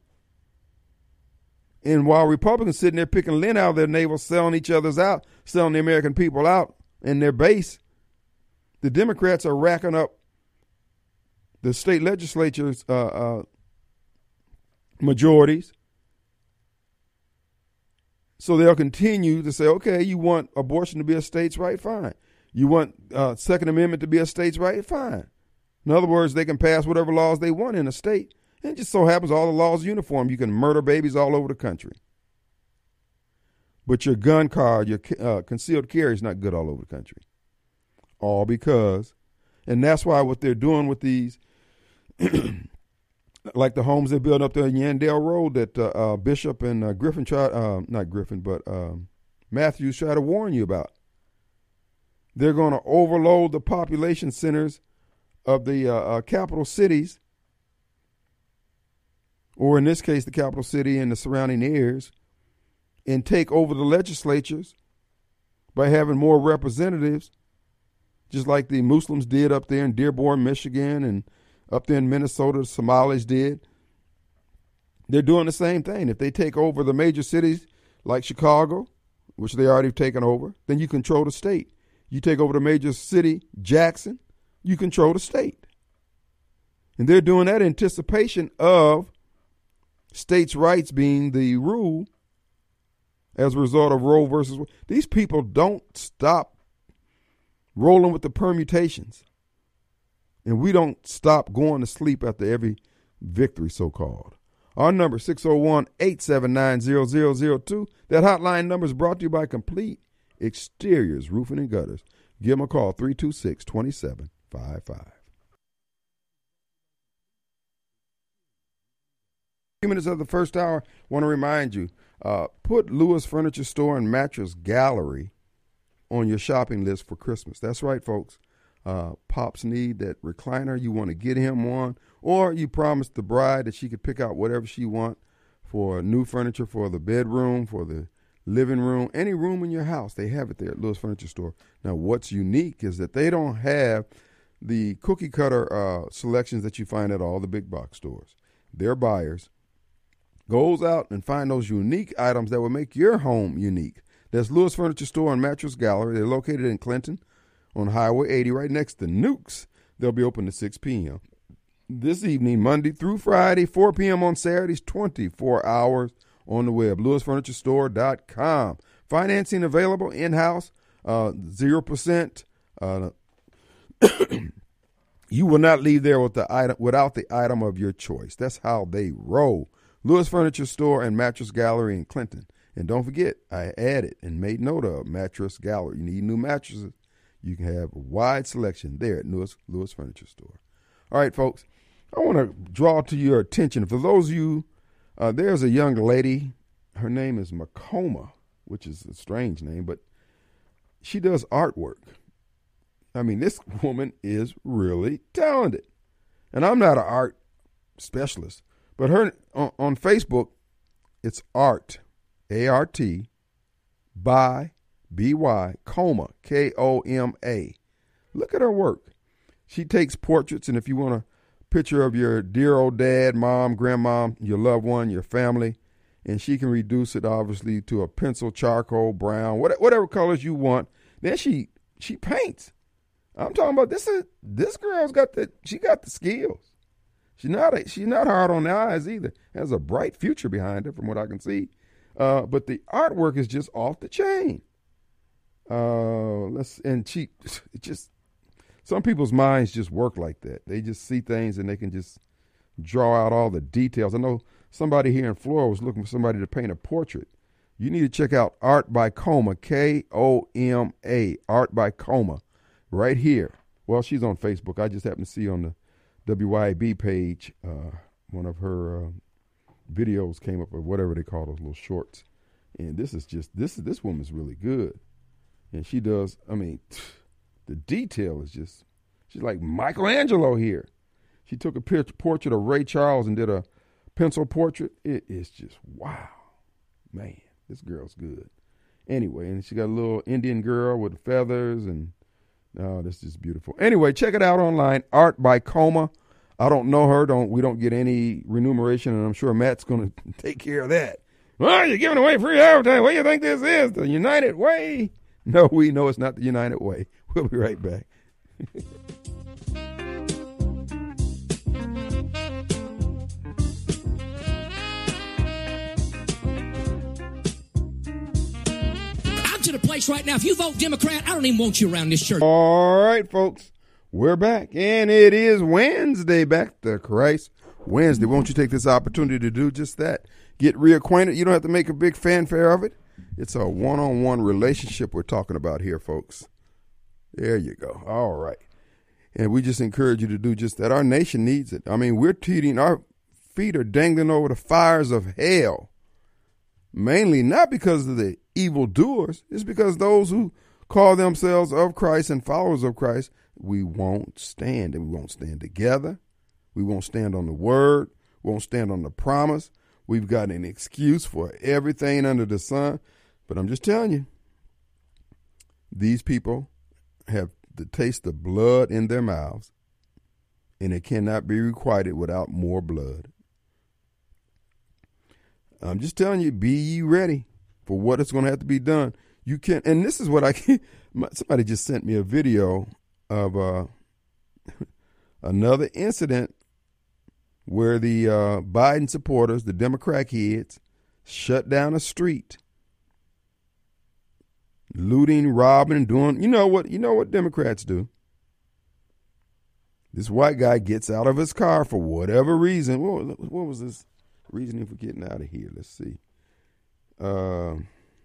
[SPEAKER 1] And while Republicans sitting there picking lint out of their navel, selling each other's out, selling the American people out and their base, the Democrats are racking up the state legislatures' uh, uh, majorities. So they'll continue to say, okay, you want abortion to be a state's right? Fine. You want uh, Second Amendment to be a state's right? Fine. In other words, they can pass whatever laws they want in a state, And it just so happens all the laws are uniform. You can murder babies all over the country. But your gun card, your uh, concealed carry is not good all over the country. All because, and that's why what they're doing with these, like the homes they built up there in Yandell Road that uh, uh, Bishop and uh, Griffin tried, uh, not Griffin, but um, Matthews tried to warn you about. They're going to overload the population centers of the uh, uh, capital cities, or in this case, the capital city and the surrounding areas, and take over the legislatures by having more representatives, just like the Muslims did up there in Dearborn, Michigan, and up there in Minnesota, the Somalis did. They're doing the same thing. If they take over the major cities like Chicago, which they already have taken over, then you control the state. You take over the major city, Jackson, you control the state. And they're doing that in anticipation of states' rights being the rule as a result of Roe versus Wade. These people don't stop rolling with the permutations. And we don't stop going to sleep after every victory, so-called. Our number, six oh one, eight seven nine, zero zero zero two. That hotline number is brought to you by Complete Exteriors, Roofing and Gutters. Give them a call, three two six, two seven five five. Few minutes of the first hour, want to remind you, uh, put Lewis Furniture Store and Mattress Gallery on your shopping list for Christmas. That's right, folks. Uh, Pops need that recliner. You want to get him one, or you promised the bride that she could pick out whatever she want for new furniture for the bedroom, for the living room, any room in your house. They have it there at Lewis Furniture Store. Now, what's unique is that they don't have the cookie cutter uh, selections that you find at all the big box stores. Their buyers goes out and find those unique items that will make your home unique. There's Lewis Furniture Store and Mattress Gallery. They're located in Clinton on Highway eighty, right next to Nukes. They'll be open to six p.m. this evening, Monday through Friday, four p.m. on Saturdays, twenty-four hours on the web, lewis furniture store dot com. Financing available in-house, uh, zero percent. Uh, you will not leave there with the item without the item of your choice. That's how they roll. Lewis Furniture Store and Mattress Gallery in Clinton. And don't forget, I added and made note of Mattress Gallery. You need new mattresses, you can have a wide selection there at Lewis, Lewis Furniture Store. All right, folks, I want to draw to your attention, for those of you, uh, there's a young lady, her name is Makoma, which is a strange name, but she does artwork. I mean, this woman is really talented. And I'm not an art specialist, but her on, on Facebook, it's art, A R T, by B Y, Koma, K O M A. Look at her work. She takes portraits, and if you want a picture of your dear old dad, mom, grandma, your loved one, your family, and she can reduce it, obviously, to a pencil, charcoal, brown, whatever colors you want. Then she she paints. I'm talking about this. Is this girl's got the she got the skills. She's not a, she's not hard on the eyes either. Has a bright future behind her, from what I can see. Uh, but the artwork is just off the chain. Uh, let's and she it just some people's minds just work like that. They just see things and they can just draw out all the details. I know somebody here in Florida was looking for somebody to paint a portrait. You need to check out Art by Koma, K O M A, Art by Koma, right here. Well, she's on Facebook. I just happened to see on the W Y A B page, uh, one of her uh, videos came up, or whatever they call those little shorts. And this is just, this this woman's really good. And she does, I mean, the detail is just, she's like Michelangelo here. She took a picture, portrait of Ray Charles and did a pencil portrait. It is just, wow. Man, this girl's good. Anyway, and she got a little Indian girl with feathers, and oh, this is beautiful. Anyway, check it out online, Art by Koma. I don't know her. Don't we don't get any remuneration, and I'm sure Matt's going to take care of that. Well, you're giving away free advertising. What do you think this is? The United Way? No, we know it's not the United Way. We'll be right back.
[SPEAKER 4] To the place right now. If you vote Democrat, I don't even want you around this church.
[SPEAKER 1] All right, folks, we're back, and it is Wednesday. Back to Christ Wednesday. Won't you take this opportunity to do just that? Get reacquainted. You don't have to make a big fanfare of it. It's a one-on-one relationship we're talking about here, folks. There you go. All right. And we just encourage you to do just that. Our nation needs it. I mean, we're teetering, our feet are dangling over the fires of hell. Mainly not because of the evildoers. It's because those who call themselves of Christ and followers of Christ, we won't stand. And we won't stand together. We won't stand on the word. We won't stand on the promise. We've got an excuse for everything under the sun. But I'm just telling you, these people have the taste of blood in their mouths, and it cannot be requited without more blood. I'm just telling you, be ye ready for what is going to have to be done. You can, and this is what I can. Somebody just sent me a video of uh, another incident where the uh, Biden supporters, the Democrat heads, shut down a street, looting, robbing, doing. You know what? You know what Democrats do. This white guy gets out of his car for whatever reason. What, what was his reasoning for getting out of here? Let's see. Uh,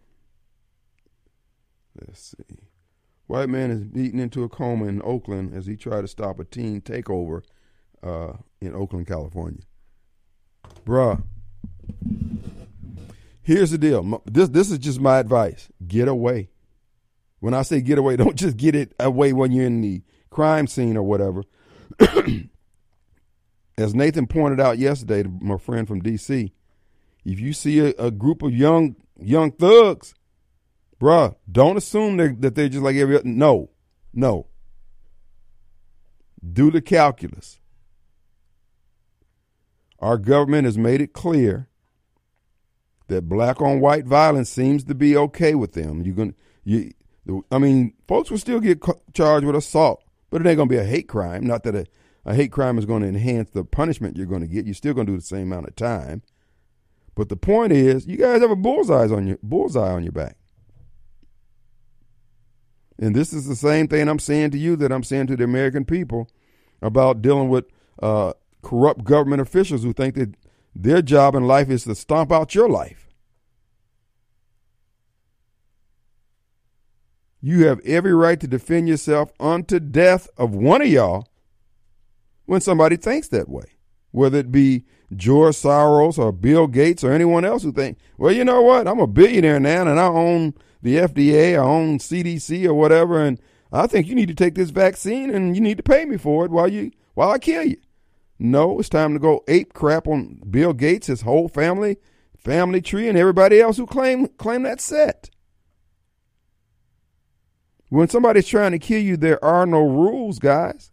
[SPEAKER 1] let's see. White man is beaten into a coma in Oakland as he tried to stop a teen takeover uh, in Oakland, California. Bruh, here's the deal. This this is just my advice. Get away. When I say get away, don't just get it away when you're in the crime scene or whatever. As Nathan pointed out yesterday, to my friend from D C, if you see a, a group of young young thugs, bruh, don't assume they're, that they're just like every other. No, no. Do the calculus. Our government has made it clear that black on white violence seems to be okay with them. You're gonna, you, I mean, folks will still get charged with assault, but it ain't gonna be a hate crime. Not that a, a hate crime is going to enhance the punishment you're going to get. You're still going to do the same amount of time. But the point is, you guys have a bullseye on your bullseye on your back. And this is the same thing I'm saying to you that I'm saying to the American people about dealing with uh, corrupt government officials who think that their job in life is to stomp out your life. You have every right to defend yourself unto death of one of y'all when somebody thinks that way, whether it be George Soros or Bill Gates or anyone else who think, well, you know what, I'm a billionaire now and I own the F D A, I own C D C or whatever, and I think you need to take this vaccine and you need to pay me for it while you while I kill you. No, it's time to go ape crap on Bill Gates, his whole family, family tree, and everybody else who claim claim that set. When somebody's trying to kill you, there are no rules, guys.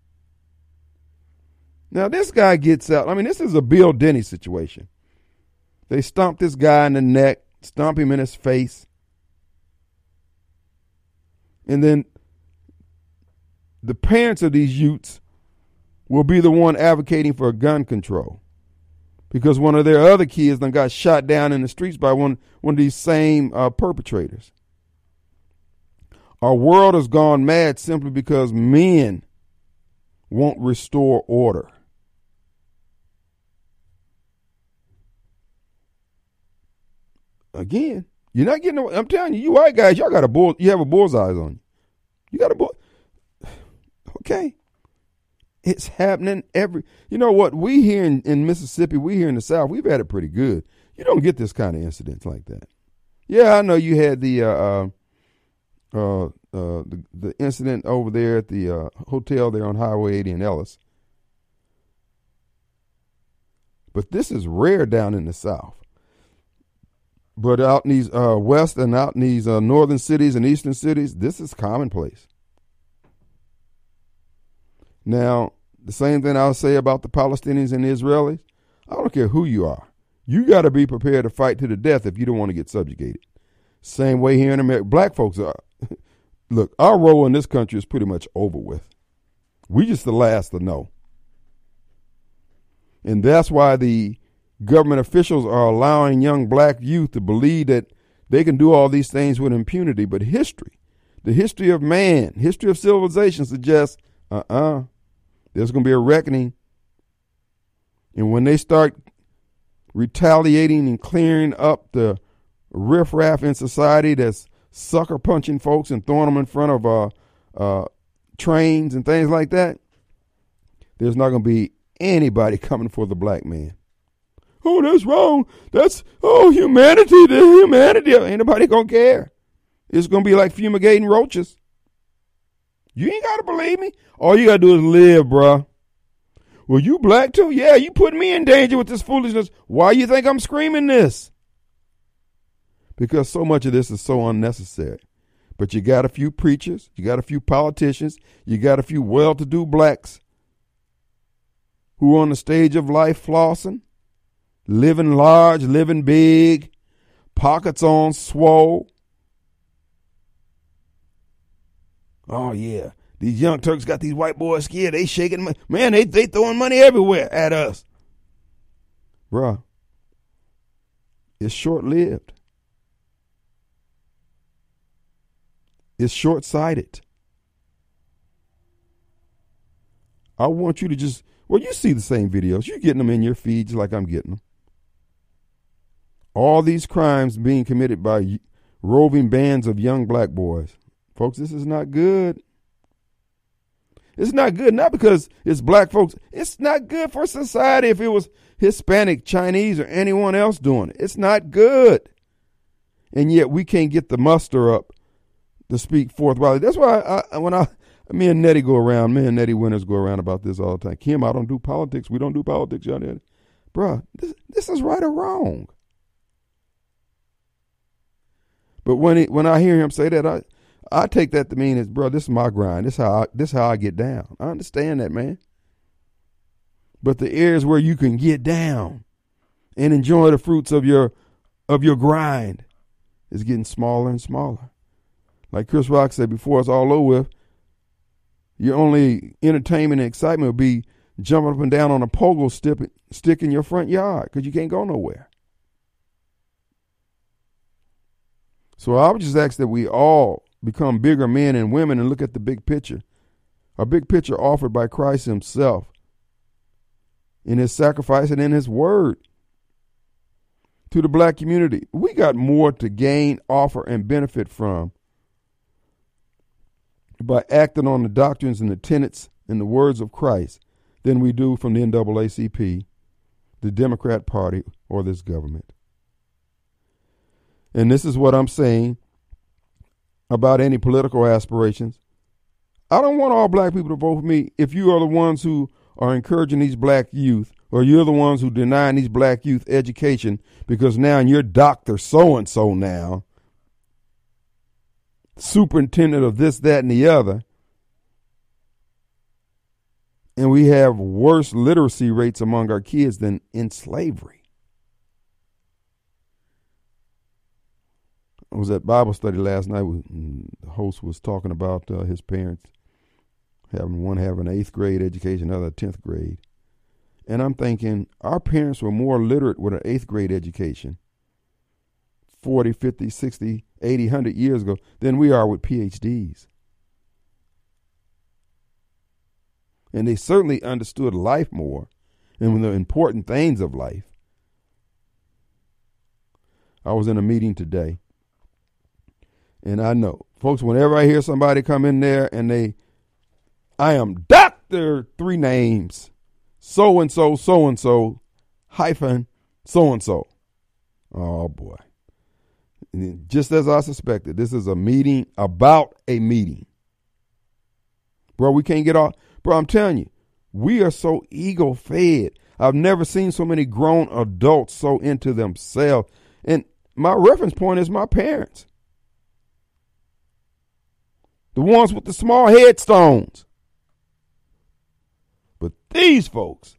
[SPEAKER 1] Now, this guy gets out. I mean, this is a Bill Denny situation. They stomp this guy in the neck, stomp him in his face. And then the parents of these youths will be the one advocating for gun control because one of their other kids done got shot down in the streets by one, one of these same uh, perpetrators. Our world has gone mad simply because men won't restore order. Again, you're not getting. I'm telling you, you white guys, y'all got a bull. You have a bullseye on you. You got a bull. Okay, it's happening every. You know what? We here in, in Mississippi, we here in the South, we've had it pretty good. You don't get this kind of incidents like that. Yeah, I know you had the uh, uh, uh, uh, the, the incident over there at the uh, hotel there on Highway eighty in Ellis, but this is rare down in the South. But out in these uh, west and out in these uh, northern cities and eastern cities, this is commonplace. Now, the same thing I'll say about the Palestinians and the Israelis, I don't care who you are. You got to be prepared to fight to the death if you don't want to get subjugated. Same way here in America. Black folks are. Look, our role in this country is pretty much over with. We just the last to know. And that's why the government officials are allowing young black youth to believe that they can do all these things with impunity. But history, the history of man, history of civilization suggests, uh-uh, there's going to be a reckoning. And when they start retaliating and clearing up the riffraff in society that's sucker punching folks and throwing them in front of uh, uh, trains and things like that, there's not going to be anybody coming for the black man. Oh, that's wrong. That's, oh, humanity, the humanity. Ain't nobody going to care. It's going to be like fumigating roaches. You ain't got to believe me. All you got to do is live, bruh. Well, you black too? Yeah, you putting me in danger with this foolishness. Why you think I'm screaming this? Because so much of this is so unnecessary. But you got a few preachers, you got a few politicians, you got a few well-to-do blacks who are on the stage of life flossing, living large, living big, pockets on swole. Oh, yeah. These young Turks got these white boys scared. They shaking. Man, they, they throwing money everywhere at us. Bruh, it's short-lived. It's short-sighted. I want you to just, well, you see the same videos. You're getting them in your feeds like I'm getting them. All these crimes being committed by roving bands of young black boys. Folks, this is not good. It's not good, not because it's black folks. It's not good for society if it was Hispanic, Chinese, or anyone else doing it. It's not good. And yet we can't get the muster up to speak forthwithly. That's why I, when I, me and Nettie go around, me and Nettie Winters go around about this all the time. Kim, I don't do politics. We don't do politics, y'all. Bruh, this, this is right or wrong. But when he, when I hear him say that, I I take that to mean is, bro, this is my grind. This how I, this how I get down. I understand that, man. But the areas where you can get down and enjoy the fruits of your of your grind is getting smaller and smaller. Like Chris Rock said before it's all over with, your only entertainment and excitement will be jumping up and down on a pogo stick, stick in your front yard because you can't go nowhere. So I would just ask that we all become bigger men and women and look at the big picture. A big picture offered by Christ himself in his sacrifice and in his word to the black community. We got more to gain, offer, and benefit from by acting on the doctrines and the tenets and the words of Christ than we do from the N double A C P, the Democrat Party, or this government. And this is what I'm saying about any political aspirations. I don't want all black people to vote for me if you are the ones who are encouraging these black youth, or you're the ones who denying these black youth education because now you're Doctor So-and-so now, superintendent of this, that, and the other, and we have worse literacy rates among our kids than in slavery. I was at Bible study last night. The host was talking about uh, his parents having one having an eighth grade education, another tenth grade. And I'm thinking our parents were more literate with an eighth grade education forty, fifty, sixty, eighty, one hundred years ago than we are with P H Ds. And they certainly understood life more and the important things of life. I was in a meeting today. And I know, folks, whenever I hear somebody come in there and they, I am Doctor Three Names, so-and-so, so-and-so, hyphen, so-and-so. Oh, boy. And just as I suspected, this is a meeting about a meeting. Bro, we can't get off. Bro, I'm telling you, we are so ego-fed. I've never seen so many grown adults so into themselves. And my reference point is my parents. The ones with the small headstones. But these folks,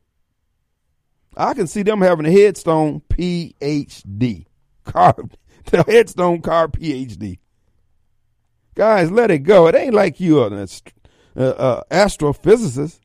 [SPEAKER 1] I can see them having a headstone P H D. Carved, the headstone carved P H D. Guys, let it go. It ain't like you are an uh, uh, astrophysicist.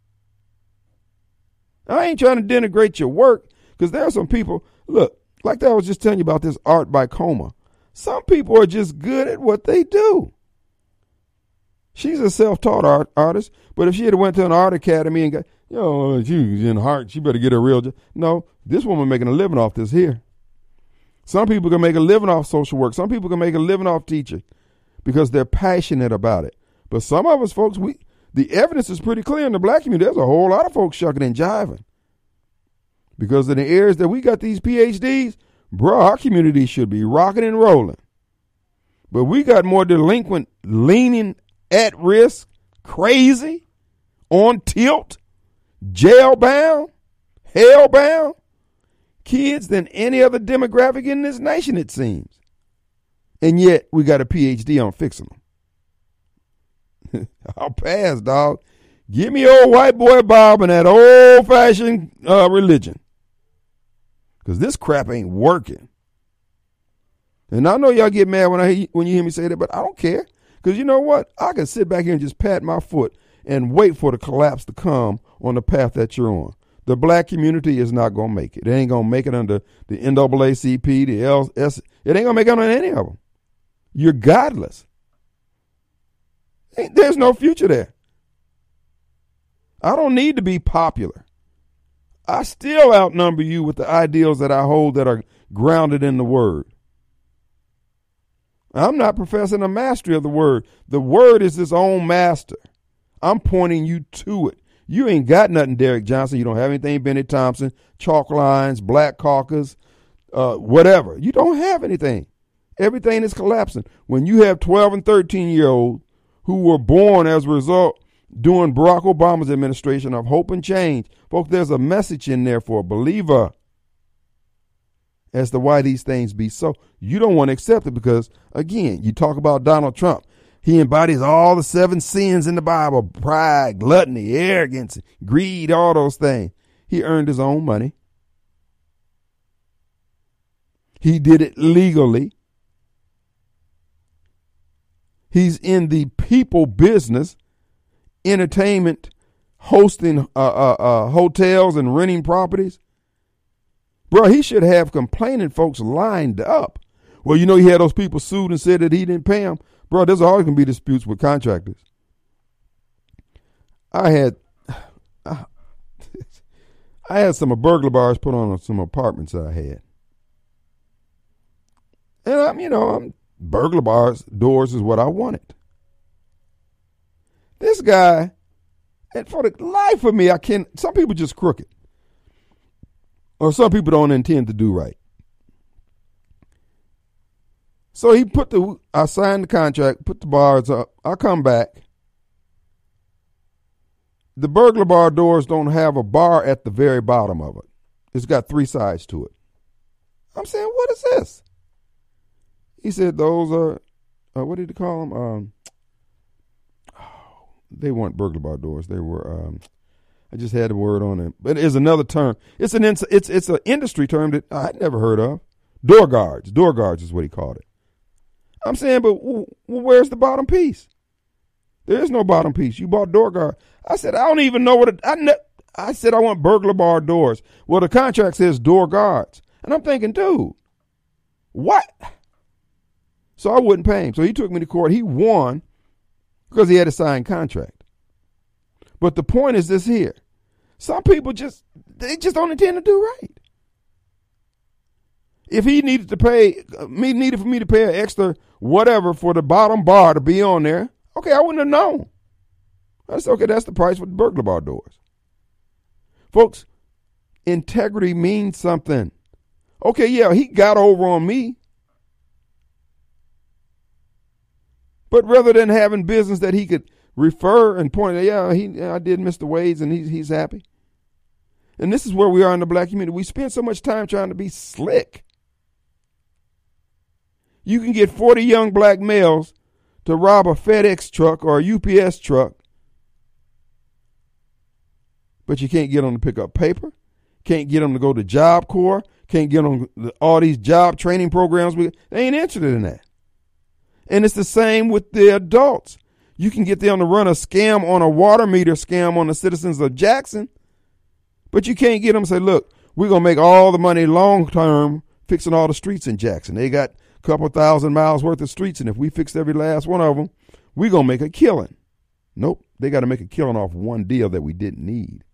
[SPEAKER 1] I ain't trying to denigrate your work because there are some people, look, like that I was just telling you about this art by Coma. Some people are just good at what they do. She's a self-taught art, artist, but if she had went to an art academy and got, You know, she's in heart. She better get a real job. No, this woman making a living off this here. Some people can make a living off social work. Some people can make a living off teaching because they're passionate about it. But some of us folks, we the evidence is pretty clear in the black community. There's a whole lot of folks shucking and jiving. Because in the areas that we got these P H Ds, bro, our community should be rocking and rolling. But we got more delinquent, leaning, at risk, crazy, on tilt, jail-bound, hell-bound kids than any other demographic in this nation, it seems. And yet we got a P H D on fixing them. I'll pass, dog. Give me old white boy Bob and that old-fashioned uh, religion. Because this crap ain't working. And I know y'all get mad when I when you hear me say that, but I don't care. Because you know what? I can sit back here and just pat my foot and wait for the collapse to come on the path that you're on. The black community is not going to make it. It ain't going to make it under the N double A C P, the L S. It ain't going to make it under any of them. You're godless. There's no future there. I don't need to be popular. I still outnumber you with the ideals that I hold that are grounded in the word. I'm not professing a mastery of the word. The word is its own master. I'm pointing you to it. You ain't got nothing, Derek Johnson. You don't have anything, Benny Thompson, chalk lines, Black Caucus, uh, whatever. You don't have anything. Everything is collapsing. When you have twelve and thirteen year olds who were born as a result during Barack Obama's administration of hope and change, folks, there's a message in there for a believer as to why these things be so. You don't want to accept it because, again, you talk about Donald Trump. He embodies all the seven sins in the Bible: pride, gluttony, arrogance, greed, all those things. He earned his own money. He did it legally. He's in the people business, entertainment, hosting uh, uh, uh, hotels and renting properties. Bro, he should have complaining folks lined up. Well, you know, he had those people sued and said that he didn't pay them. Bro, there's always going to be disputes with contractors. I had I, I had some burglar bars put on some apartments that I had. And I'm, you know, I'm, burglar bars, doors is what I wanted. This guy, and for the life of me, I can't, some people just crooked. Or some people don't intend to do right. So he put the, I signed the contract, put the bars up. I come back. The burglar bar doors don't have a bar at the very bottom of it. It's got three sides to it. I'm saying, what is this? He said, those are, uh, what did he call them? Um, oh, they weren't burglar bar doors. They were, um, I just had the word on it. But it's another term. It's an it's it's an industry term that I'd never heard of. Door guards. Door guards is what he called it. I'm saying, but w- w- where's the bottom piece? There is no bottom piece. You bought door guard. I said, I don't even know what it, I ne- I said I want burglar bar doors. Well, the contract says door guards. And I'm thinking, dude, what? So I wouldn't pay him. So he took me to court. He won because he had a signed contract. But the point is this here. Some people just, they just don't intend to do right. If he needed to pay, me needed for me to pay an extra whatever for the bottom bar to be on there, okay, I wouldn't have known. I said, okay, that's the price for the burglar bar doors. Folks, integrity means something. Okay, yeah, he got over on me. But rather than having business that he could refer and point out, yeah, he, I did Mister Wade's and he's, he's happy. And this is where we are in the black community. We spend so much time trying to be slick. You can get forty young black males to rob a FedEx truck or a U P S truck, but you can't get them to pick up paper, can't get them to go to Job Corps, can't get them to all these job training programs. They ain't interested in that. And it's the same with the adults. You can get them to run a scam on a water meter scam on the citizens of Jackson, but you can't get them to say, look, we're going to make all the money long term fixing all the streets in Jackson. They got a couple thousand miles worth of streets, and if we fix every last one of them, we're going to make a killing. Nope, they got to make a killing off one deal that we didn't need.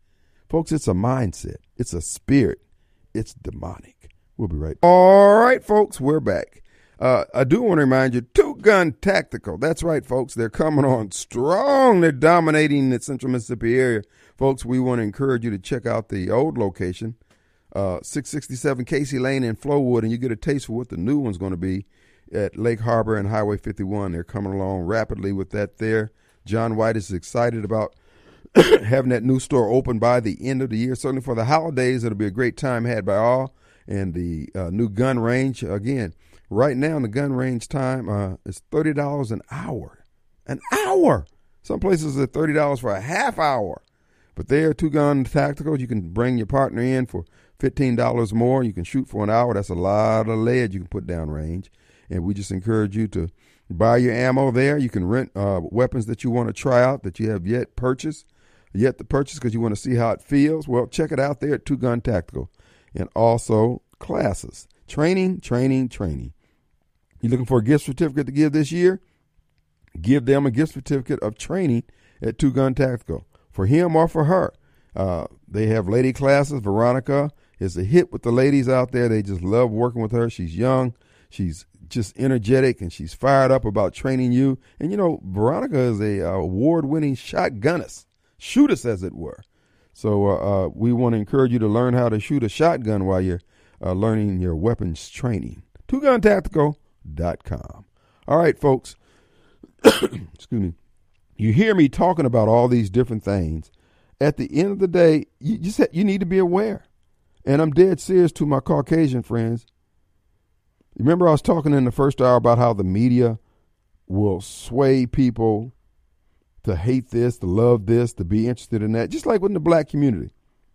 [SPEAKER 1] Folks, it's a mindset. It's a spirit. It's demonic. We'll be right back. All right, folks, we're back. Uh, I do want to remind you, Two Gun Tactical. That's right, folks. They're coming on strong. They're dominating the central Mississippi area. Folks, we want to encourage you to check out the old location, uh, six sixty-seven Casey Lane in Flowood, and you get a taste for what the new one's going to be at Lake Harbor and Highway fifty-one. They're coming along rapidly with that there. John White is excited about having that new store open by the end of the year. Certainly for the holidays, it'll be a great time had by all. And the uh, new gun range, again, right now the gun range time uh, is thirty dollars an hour. An hour! Some places are thirty dollars for a half hour. But they are Two Gun Tactical. You can bring your partner in for fifteen dollars more. You can shoot for an hour. That's a lot of lead you can put down range. And we just encourage you to buy your ammo there. You can rent uh, weapons that you want to try out that you have yet purchased, yet to purchase because you want to see how it feels. Well, check it out there at Two Gun Tactical. And also classes, training, training, training. You looking for a gift certificate to give this year? Give them a gift certificate of training at Two Gun Tactical for him or for her. Uh, they have lady classes. Veronica is a hit with the ladies out there. They just love working with her. She's young. She's just energetic, and she's fired up about training you. And, you know, Veronica is a uh, award-winning shotgunnist, shootist, as it were. So uh, uh, we want to encourage you to learn how to shoot a shotgun while you're uh, learning your weapons training. two gun tactical dot com. All right, folks. Excuse me. You hear me talking about all these different things. At the end of the day, you just you need to be aware. And I'm dead serious to my Caucasian friends. Remember I was talking in the first hour about how the media will sway people to hate this, to love this, to be interested in that, just like within the black community.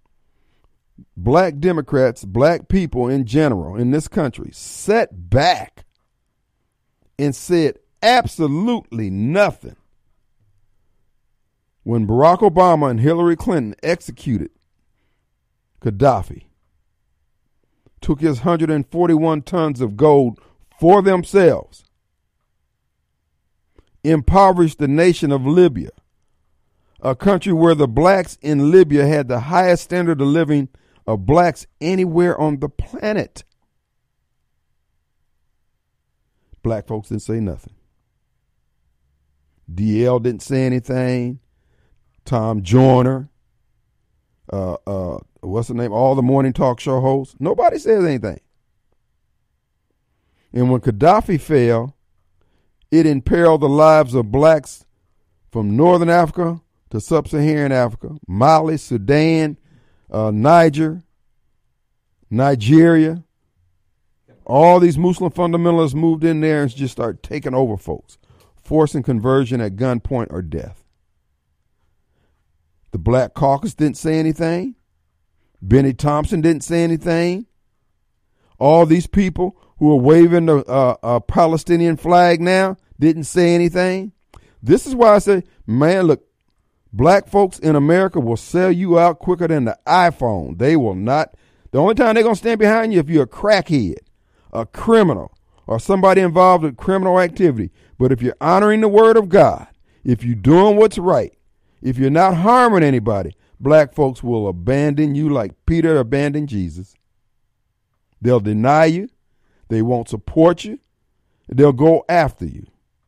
[SPEAKER 1] Black Democrats, black people in general in this country sat back and said absolutely nothing when Barack Obama and Hillary Clinton executed Gaddafi, took his one hundred forty-one tons of gold for themselves, impoverished the nation of Libya, a country where the blacks in Libya had the highest standard of living of blacks anywhere on the planet. Black folks didn't say nothing. D L didn't say anything. Tom Joyner, uh, uh, what's the name? All the morning talk show hosts. Nobody says anything. And when Gaddafi fell, it imperiled the lives of blacks from Northern Africa to Sub-Saharan Africa, Mali, Sudan, uh, Niger, Nigeria. All these Muslim fundamentalists moved in there and just started taking over folks, forcing conversion at gunpoint or death. The Black Caucus didn't say anything. Benny Thompson didn't say anything. All these people who are waving the uh, uh, Palestinian flag now didn't say anything. This is why I say, man, look, black folks in America will sell you out quicker than the iPhone. They will not. The only time they're going to stand behind you if you're a crackhead, a criminal, or somebody involved in criminal activity. But if you're honoring the word of God, if you're doing what's right, if you're not harming anybody, black folks will abandon you like Peter abandoned Jesus. They'll deny you. They won't support you. They'll go after you.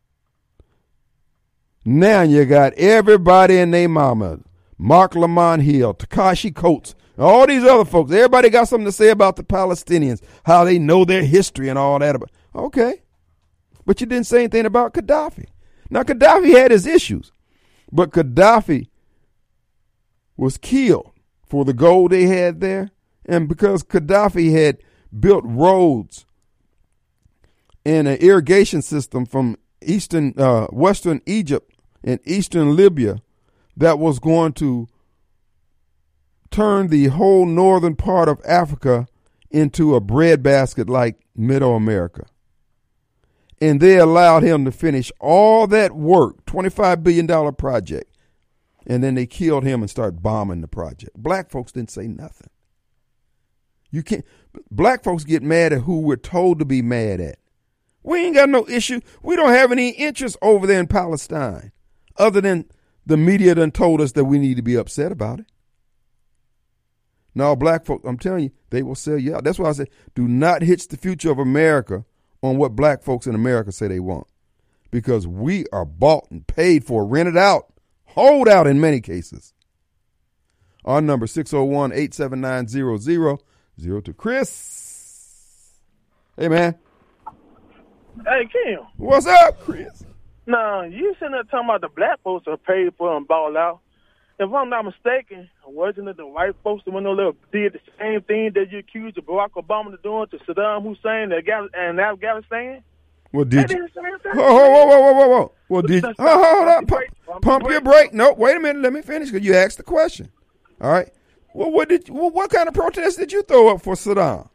[SPEAKER 1] Now you got everybody and their mama, Mark Lamont Hill, Takashi Coates, all these other folks. Everybody got something to say about the Palestinians, how they know their history and all that. Okay. But you didn't say anything about Gaddafi. Now, Gaddafi had his issues, but Gaddafi was killed for the gold they had there. And because Gaddafi had built roads and an irrigation system from eastern, uh, western Egypt and eastern Libya that was going to turn the whole northern part of Africa into a breadbasket like Middle America. And they allowed him to finish all that work, twenty-five billion dollars project. And then they killed him and started bombing the project. Black folks didn't say nothing. You can't. Black folks get mad at who we're told to be mad at. We ain't got no issue. We don't have any interest over there in Palestine, other than the media done told us that we need to be upset about it. No, black folks, I'm telling you, they will sell you out. That's why I say, do not hitch the future of America on what black folks in America say they want. Because we are bought and paid for, rented out, hold out in many cases. Our number, six oh one, eight seven nine, zero zero zero two. Chris. Hey, man.
[SPEAKER 5] Hey, Kim.
[SPEAKER 1] What's up, Chris?
[SPEAKER 5] Nah, you sitting there talking about the black folks are paid for and ball out. If I'm not mistaken, wasn't it the white folks that went over there did the same thing that you accused of Barack Obama of doing to Saddam Hussein and Afghanistan?
[SPEAKER 1] Well, did
[SPEAKER 5] They
[SPEAKER 1] you?
[SPEAKER 5] did the same thing.
[SPEAKER 1] Whoa, whoa, whoa, whoa, whoa, whoa. Well, did you?
[SPEAKER 5] Stop,
[SPEAKER 1] Oh, hold
[SPEAKER 5] stop
[SPEAKER 1] up.
[SPEAKER 5] the
[SPEAKER 1] Pump,
[SPEAKER 5] brake. Stop the
[SPEAKER 1] pump your
[SPEAKER 5] brake.
[SPEAKER 1] brake. No, wait a minute. Let me finish because you asked the question. All right. Well, what did? Well, what kind of protest did you throw up for Saddam?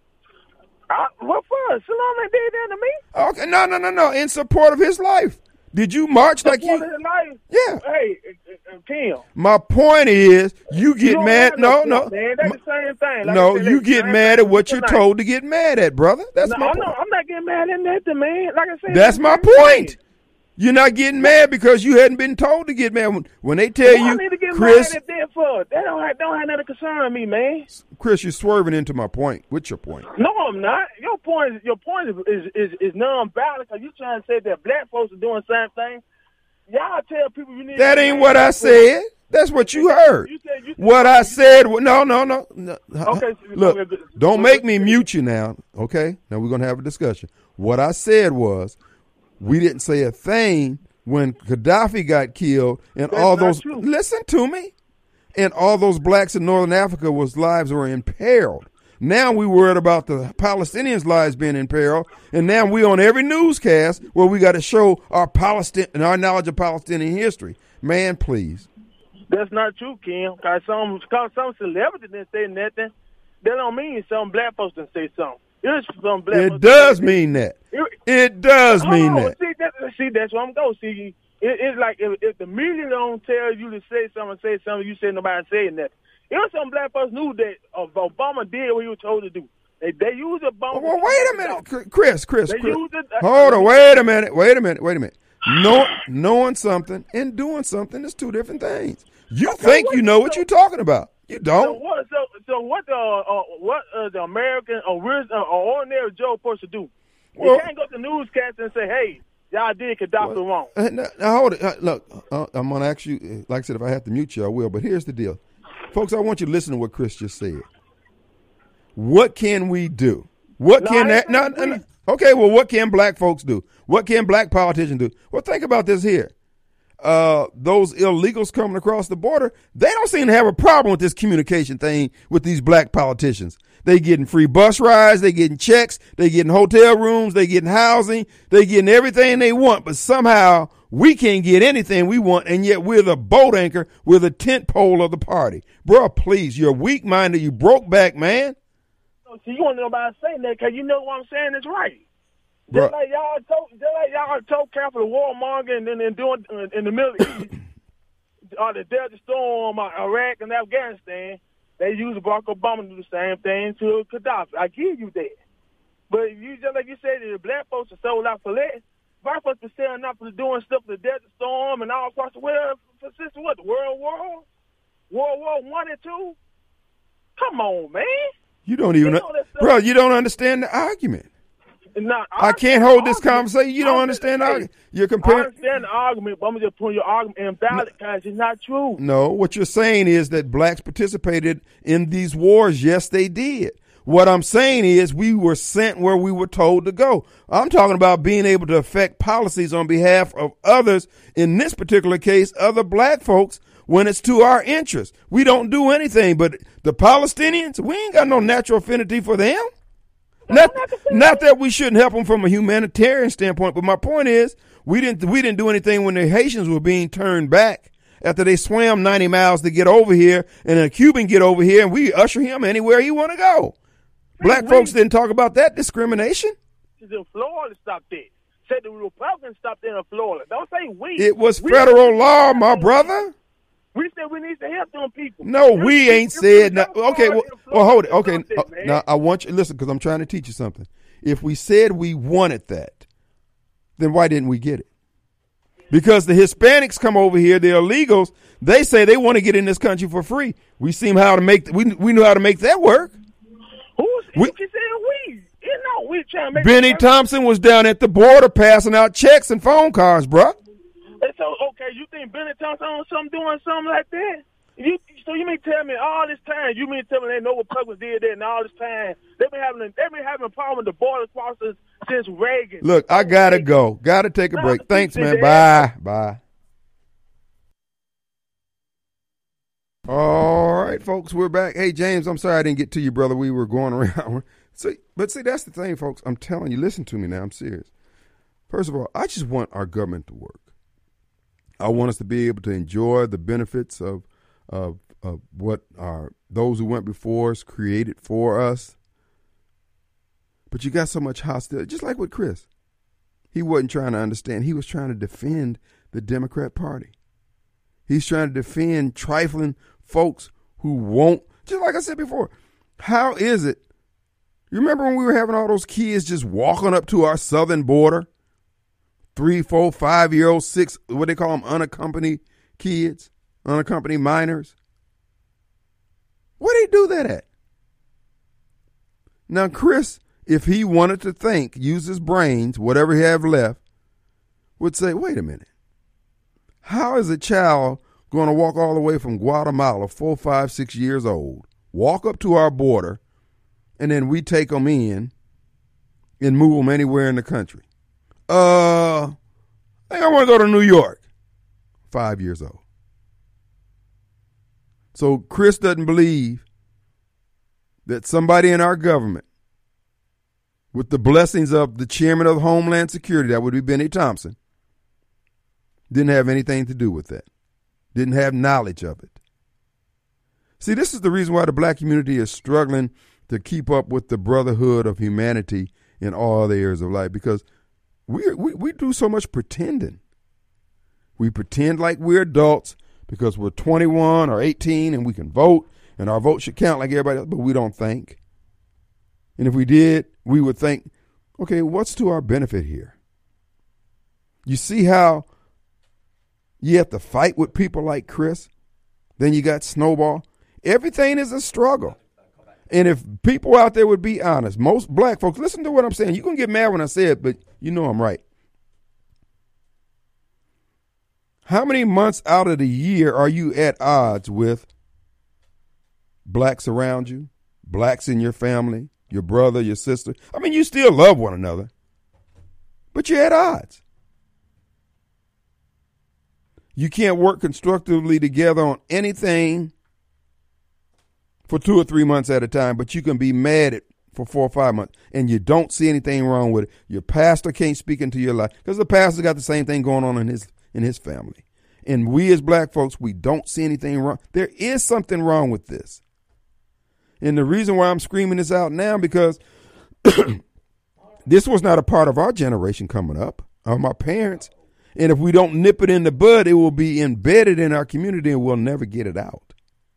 [SPEAKER 5] I, what for? Saddam ain't did that to me.
[SPEAKER 1] Okay, no, no, no, no. In support of his life. Did you march like
[SPEAKER 5] Support
[SPEAKER 1] you?
[SPEAKER 5] his life.
[SPEAKER 1] Yeah.
[SPEAKER 5] Hey, uh, uh, Kim.
[SPEAKER 1] My point is, you get
[SPEAKER 5] You don't
[SPEAKER 1] mad.
[SPEAKER 5] have
[SPEAKER 1] No,
[SPEAKER 5] no
[SPEAKER 1] no.
[SPEAKER 5] point, man. That's the same thing. Like
[SPEAKER 1] No,
[SPEAKER 5] I said,
[SPEAKER 1] you
[SPEAKER 5] that's the
[SPEAKER 1] get
[SPEAKER 5] same
[SPEAKER 1] mad
[SPEAKER 5] thing
[SPEAKER 1] at what you're
[SPEAKER 5] tonight.
[SPEAKER 1] told to get mad at, brother. That's
[SPEAKER 5] No,
[SPEAKER 1] my
[SPEAKER 5] I'm
[SPEAKER 1] point.
[SPEAKER 5] not, I'm not getting mad at nothing, man. Like I said,
[SPEAKER 1] That's my
[SPEAKER 5] the same
[SPEAKER 1] point.
[SPEAKER 5] thing.
[SPEAKER 1] You're not getting mad because you hadn't been told to get mad. When, when they tell
[SPEAKER 5] What I
[SPEAKER 1] you,
[SPEAKER 5] need to get
[SPEAKER 1] Chris,
[SPEAKER 5] mad at them for? That don't have, don't have nothing to concern me, man.
[SPEAKER 1] Chris, you're swerving into my point. What's your point?
[SPEAKER 5] No, I'm not. Your point is your point is is, is, is non-valid because you trying to say that black folks are doing the same thing. Y'all tell people you need.
[SPEAKER 1] That
[SPEAKER 5] to
[SPEAKER 1] ain't
[SPEAKER 5] get
[SPEAKER 1] what
[SPEAKER 5] mad
[SPEAKER 1] I
[SPEAKER 5] at
[SPEAKER 1] said. That's what you heard.
[SPEAKER 5] You said, you said,
[SPEAKER 1] What I said, wa- no, no, no. no.
[SPEAKER 5] Okay, so-
[SPEAKER 1] Look, don't make me mute you now, okay? Now we're going to have a discussion. What I said was, we didn't say a thing when Gaddafi got killed and
[SPEAKER 5] That's
[SPEAKER 1] all
[SPEAKER 5] not
[SPEAKER 1] those,
[SPEAKER 5] true.
[SPEAKER 1] listen to me, and all those blacks in Northern Africa was lives were imperiled. Now we worried about the Palestinians' lives being imperiled, and now we on every newscast where we got to show our Palestine and our knowledge of Palestinian history. Man, please.
[SPEAKER 5] That's not true, Kim. Cause some cause some celebrity didn't say nothing. That don't mean some black folks didn't say something. It's some black.
[SPEAKER 1] It
[SPEAKER 5] folks
[SPEAKER 1] does
[SPEAKER 5] that-
[SPEAKER 1] mean that.
[SPEAKER 5] It-
[SPEAKER 1] It does
[SPEAKER 5] Hold
[SPEAKER 1] mean
[SPEAKER 5] on,
[SPEAKER 1] that.
[SPEAKER 5] See, that, see, that's where I'm going. See, it, it's like if, if the media don't tell you to say something, say something, you say nobody saying that. It was some black folks knew that uh, Obama did what he was told to do. They they used Obama.
[SPEAKER 1] Well, wait a minute, Chris, Chris,
[SPEAKER 5] They
[SPEAKER 1] Chris.
[SPEAKER 5] used it-
[SPEAKER 1] Hold on, wait a minute, wait a minute, wait a minute. Know, knowing something and doing something is two different things. You think you know what you're talking about. You
[SPEAKER 5] So
[SPEAKER 1] don't.
[SPEAKER 5] what? So, so what? The uh, what uh, the American or uh, or ordinary Joe supposed to do?
[SPEAKER 1] Well-
[SPEAKER 5] you can't go to the newscast and say, "Hey, y'all did Gaddafi wrong."
[SPEAKER 1] Uh, Now, now hold it. Uh, look, uh, I'm going to ask you, uh, like I said, if I have to mute you, I will. But here's the deal. Folks, I want you to listen to what Chris just said. What can we do? What
[SPEAKER 5] No,
[SPEAKER 1] can
[SPEAKER 5] I
[SPEAKER 1] that?
[SPEAKER 5] ain't
[SPEAKER 1] No,
[SPEAKER 5] saying
[SPEAKER 1] no, no.
[SPEAKER 5] please.
[SPEAKER 1] Okay, well, what can black folks do? What can black politicians do? Well, think about this here. Uh, those illegals coming across the border, they don't seem to have a problem with this communication thing with these black politicians. They getting free bus rides, they getting checks, they getting hotel rooms, they getting housing, they getting everything they want, but somehow we can't get anything we want, and yet we're the boat anchor, we're the tent pole of the party. Bro, please, you're weak-minded, you broke back, man.
[SPEAKER 5] See, you want nobody saying that because you know what I'm saying is right.
[SPEAKER 1] Bruh.
[SPEAKER 5] Just like y'all told, just like y'all told Capital warmonger and then and doing uh, in the Middle East, or the Desert Storm, or Iraq and Afghanistan, they use Barack Obama to do the same thing to Gaddafi. I give you that. But you just like you said, the black folks are sold out for less. Black folks are selling out for doing stuff for the Desert Storm and all across the world for since what the World War, World War One and Two. Come on, man.
[SPEAKER 1] You don't even,
[SPEAKER 5] You know that stuff-
[SPEAKER 1] bro, you don't understand the argument.
[SPEAKER 5] Now,
[SPEAKER 1] I can't
[SPEAKER 5] understand
[SPEAKER 1] hold
[SPEAKER 5] the
[SPEAKER 1] this
[SPEAKER 5] argument.
[SPEAKER 1] conversation. You don't
[SPEAKER 5] I
[SPEAKER 1] understand the
[SPEAKER 5] hey,
[SPEAKER 1] argument. You're
[SPEAKER 5] I
[SPEAKER 1] comparing.
[SPEAKER 5] understand the argument, but I'm just putting your argument invalid because it's not true.
[SPEAKER 1] No, what you're saying is that blacks participated in these wars. Yes, they did. What I'm saying is we were sent where we were told to go. I'm talking about being able to affect policies on behalf of others, in this particular case, other black folks, when it's to our interest. We don't do anything, but the Palestinians, we ain't got no natural affinity for them. Not, not that we shouldn't help them from a humanitarian standpoint, but my point is we didn't we didn't do anything when the Haitians were being turned back after they swam ninety miles to get over here, and a Cuban get over here, and we usher him anywhere he want to go. Black
[SPEAKER 5] we-
[SPEAKER 1] folks didn't talk about that discrimination.
[SPEAKER 5] In Florida, stopped it. Said the Republicans stopped it in Florida. Don't say we.
[SPEAKER 1] It was
[SPEAKER 5] We-
[SPEAKER 1] federal law, my brother.
[SPEAKER 5] We said we need to help them people.
[SPEAKER 1] No,
[SPEAKER 5] If-
[SPEAKER 1] we
[SPEAKER 5] if-
[SPEAKER 1] ain't
[SPEAKER 5] if
[SPEAKER 1] said
[SPEAKER 5] we
[SPEAKER 1] no.
[SPEAKER 5] don't
[SPEAKER 1] Okay, well,
[SPEAKER 5] Florida,
[SPEAKER 1] well, hold it. Okay,
[SPEAKER 5] Florida,
[SPEAKER 1] uh,
[SPEAKER 5] man.
[SPEAKER 1] now I want you listen because I'm trying to teach you something. If we said we wanted that, then why didn't we get it? Because the Hispanics come over here, the illegals, they say they want to get in this country for free. We seem how to make we we knew how to make that work.
[SPEAKER 5] Who's
[SPEAKER 1] We-
[SPEAKER 5] you said we? You know, we trying to make
[SPEAKER 1] Benny
[SPEAKER 5] that work.
[SPEAKER 1] Thompson was down at the border passing out checks and phone cards, bruh.
[SPEAKER 5] And so, okay, you think Benny Thompson on something doing something like that? You, so you mean tell me all this time? You mean tell me they know what Republicans did that, and all this time they've been having they've been having a problem with the border crossers since Reagan.
[SPEAKER 1] Look, I gotta go. Gotta take a
[SPEAKER 5] No,
[SPEAKER 1] break. Thanks,
[SPEAKER 5] you
[SPEAKER 1] man.
[SPEAKER 5] did
[SPEAKER 1] Bye. Bye. All right, folks, we're back. Hey, James, I'm sorry I didn't get to you, brother. We were going around. See, but see, that's the thing, folks. I'm telling you, listen to me now. I'm serious. First of all, I just want our government to work. I want us to be able to enjoy the benefits of of, of what our those who went before us created for us. But you got so much hostility, just like with Chris. He wasn't trying to understand. He was trying to defend the Democrat Party. He's trying to defend trifling folks who won't, just like I said before, how is it? You remember when we were having all those kids just walking up to our southern border? Three, four, five-year-olds, six, what they call them, unaccompanied kids, unaccompanied minors. Where they do that at? Now, Chris, if he wanted to think, use his brains, whatever he have left, would say, wait a minute. How is a child going to walk all the way from Guatemala, four, five, six years old, walk up to our border, and then we take them in and move them anywhere in the country? Uh, I think I want to go to New York. Five years old. So Chris doesn't believe that somebody in our government, with the blessings of the chairman of Homeland Security, that would be Benny Thompson, didn't have anything to do with that. Didn't have knowledge of it. See, this is the reason why the black community is struggling to keep up with the brotherhood of humanity in all the areas of life, because we we we do so much pretending. We pretend like we're adults because we're twenty-one or eighteen and we can vote and our vote should count like everybody else, but we don't think. And if we did, we would think, okay, what's to our benefit here? You see how you have to fight with people like Chris? Then you got Snowball. Everything is a struggle. And if people out there would be honest, most black folks, listen to what I'm saying. You're going to get mad when I say it, but you know I'm right. How many months out of the year are you at odds with blacks around you, blacks in your family, your brother, your sister? I mean, you still love one another, but you're at odds. You can't work constructively together on anything for two or three months at a time, but you can be mad at for four or five months, and you don't see anything wrong with it. Your pastor can't speak into your life because the pastor got the same thing going on in his in his family. And we as black folks, we don't see anything wrong. There is something wrong with this. And the reason why I'm screaming this out now, because this was not a part of our generation coming up, of my parents. And if we don't nip it in the bud, it will be embedded in our community and we'll never get it out.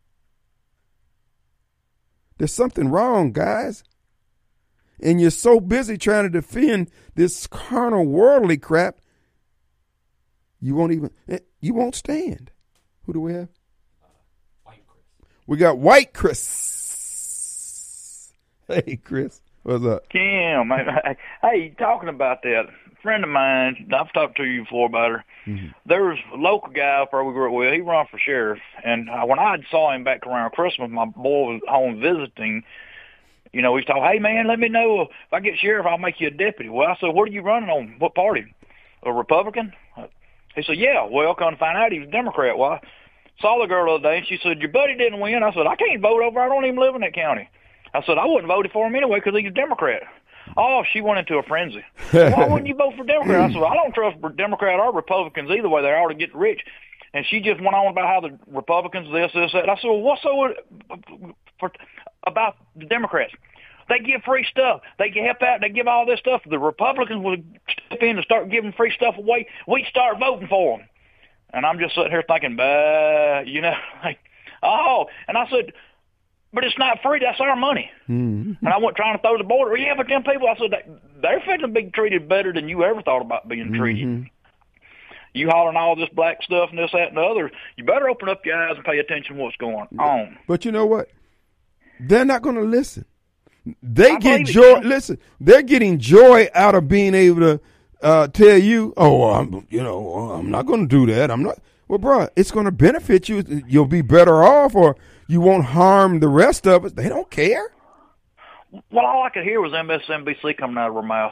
[SPEAKER 1] There's something wrong, guys. And you're so busy trying to defend this carnal, worldly crap, you won't even, you won't stand. Who do we have?
[SPEAKER 6] Uh, White Chris.
[SPEAKER 1] We got White Chris. Hey, Chris. What's up?
[SPEAKER 7] Kim, hey, talking about that, a friend of mine, I've talked to you before about her. Mm-hmm. There was a local guy up where we grew up with. He run for sheriff. And when I saw him back around Christmas, my boy was home visiting. You know, he's talking, hey, man, let me know if I get sheriff, I'll make you a deputy. Well, I said, what are you running on? What party? A Republican? He said, yeah. Well, come to find out he was a Democrat. Well, I saw the girl the other day, and she said, your buddy didn't win. I said, I can't vote over. I don't even live in that county. I said, I wouldn't vote for him anyway because he's a Democrat. Oh, she went into a frenzy. Why wouldn't you vote for Democrat? I said, I don't trust Democrat or Republicans either way. They're all to get rich. And she just went on about how the Republicans, this, this, that. I said, well, what's so for, about the Democrats? They give free stuff. They can help out. They give all this stuff. The Republicans would step in and start giving free stuff away. We'd start voting for them. And I'm just sitting here thinking, bah, you know, like, oh. And I said, but it's not free. That's our money. Mm-hmm. And I went trying to throw the border. Yeah, but them people, I said, they're fitting to be treated better than you ever thought about being treated. Mm-hmm. You hollering all this black stuff and this, that, and the other. You better open up your eyes and pay attention to what's going on.
[SPEAKER 1] But you know what? They're not going to listen. They
[SPEAKER 7] I
[SPEAKER 1] get
[SPEAKER 7] believe it,
[SPEAKER 1] joy.
[SPEAKER 7] man.
[SPEAKER 1] Listen, they're getting joy out of being able to uh, tell you, "Oh, well, I'm, you know, I'm not going to do that. I'm not." Well, bro, it's going to benefit you. You'll be better off, or you won't harm the rest of us. They don't care.
[SPEAKER 7] Well, all I could hear was M S N B C coming out of her mouth.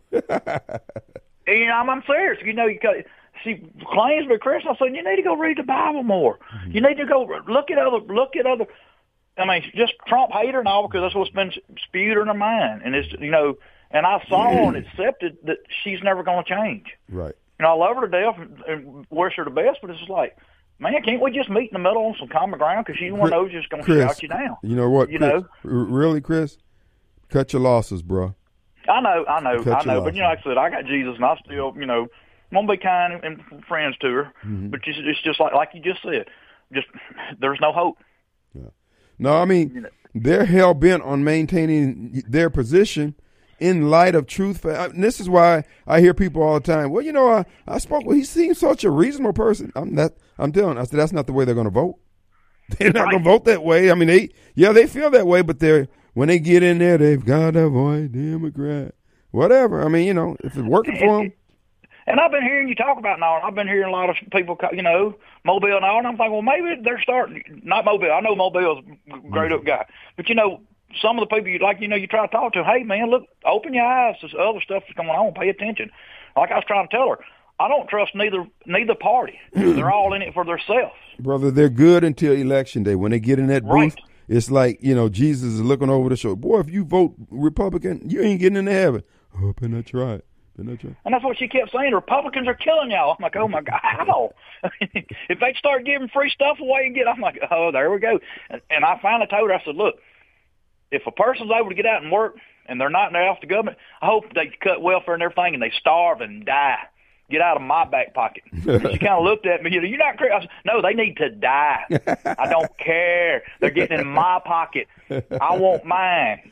[SPEAKER 7] And, you know, I'm, I'm serious. You know, you got, she claims to be Christian. I said, you need to go read the Bible more. Mm-hmm. You need to go look at other, look at other. I mean, just Trump hater and all, because that's what's been spewed in her mind. And it's, you know, and I saw and accepted that she's never going to change.
[SPEAKER 1] Right.
[SPEAKER 7] You know, I love her to death and, and wish her the best, but it's just like, man, can't we just meet in the middle on some common ground? Because she's one of those just going to shout you down.
[SPEAKER 1] You know what?
[SPEAKER 7] You
[SPEAKER 1] Chris,
[SPEAKER 7] know,
[SPEAKER 1] r- really, Chris, cut your losses, bro.
[SPEAKER 7] I know, I know,
[SPEAKER 1] Cut
[SPEAKER 7] I know.
[SPEAKER 1] your
[SPEAKER 7] But you know, like I said, I got Jesus, and I still, you know, I'm gonna be kind and, and friends to her. Mm-hmm. But it's, it's just like, like you just said, just there's no hope.
[SPEAKER 1] Yeah. No, I mean, you know, they're hell bent on maintaining their position in light of truth. And this is why I hear people all the time. Well, you know, I, I spoke. Well, he seems such a reasonable person. I'm not. I'm telling. I said that's not the way they're going to vote. They're not right. going to vote that way. I mean, they yeah, they feel that way, but they're when they get in there, they've got to avoid Democrat, whatever. I mean, you know, if it's working for them.
[SPEAKER 7] And I've been hearing you talk about now, and I've been hearing a lot of people, you know, Mobile and all, and I'm thinking, well, maybe they're starting, not Mobile. I know Mobile's a great up guy. But, you know, some of the people, you like, you know, you try to talk to, hey, man, look, open your eyes. There's other stuff that's going on. Pay attention. Like I was trying to tell her, I don't trust neither neither party. They're all in it for themselves.
[SPEAKER 1] Brother, they're good until Election Day. When they get in that
[SPEAKER 7] right.
[SPEAKER 1] booth, it's like, you know, Jesus is looking over the shoulder. Boy, if you vote Republican, you ain't getting into heaven. Oh, been I try. Been I try.
[SPEAKER 7] And that's what she kept saying. Republicans are killing y'all. I'm like, oh, my God, how? If they start giving free stuff away and get, I'm like, oh, there we go. And, and I finally told her, I said, look, if a person's able to get out and work and they're not in there off the government, I hope they cut welfare and everything and they starve and die. Get out of my back pocket. She kind of looked at me. You know, you're not crazy. I said, no, they need to die. I don't care. They're getting in my pocket. I want mine.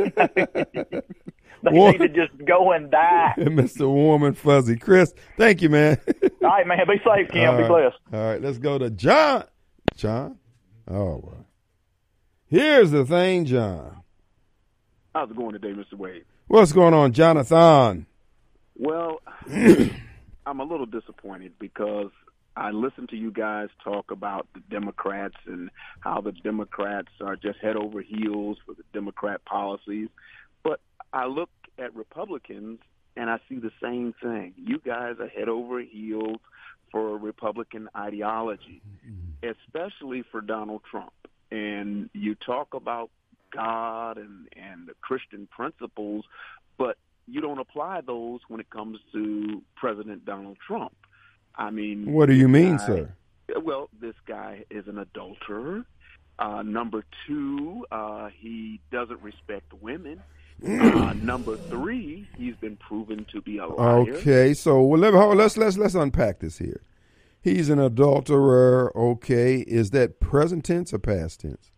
[SPEAKER 7] They
[SPEAKER 1] Warm,
[SPEAKER 7] need to just go and die.
[SPEAKER 1] Mister Warm and Fuzzy. Chris, thank you, man.
[SPEAKER 7] All right, man. Be safe, Kim.
[SPEAKER 1] All
[SPEAKER 7] Be
[SPEAKER 1] right.
[SPEAKER 7] blessed.
[SPEAKER 1] All right, let's go to John. John? Oh, boy. Here's the thing, John.
[SPEAKER 8] How's it going today, Mister Wade?
[SPEAKER 1] What's going on, Jonathan?
[SPEAKER 8] Well, I'm a little disappointed because I listened to you guys talk about the Democrats and how the Democrats are just head over heels for the Democrat policies. But I look at Republicans and I see the same thing. You guys are head over heels for Republican ideology, especially for Donald Trump. And you talk about God and, and the Christian principles, but you don't apply those when it comes to President Donald Trump. I mean,
[SPEAKER 1] what do you mean,
[SPEAKER 8] guy,
[SPEAKER 1] sir?
[SPEAKER 8] Well, this guy is an adulterer. Uh, number two, uh, he doesn't respect women. Uh, number three, he's been proven to be a liar.
[SPEAKER 1] Okay, so well, let, let's let's let's unpack this here. He's an adulterer. Okay, is that present tense or past tense?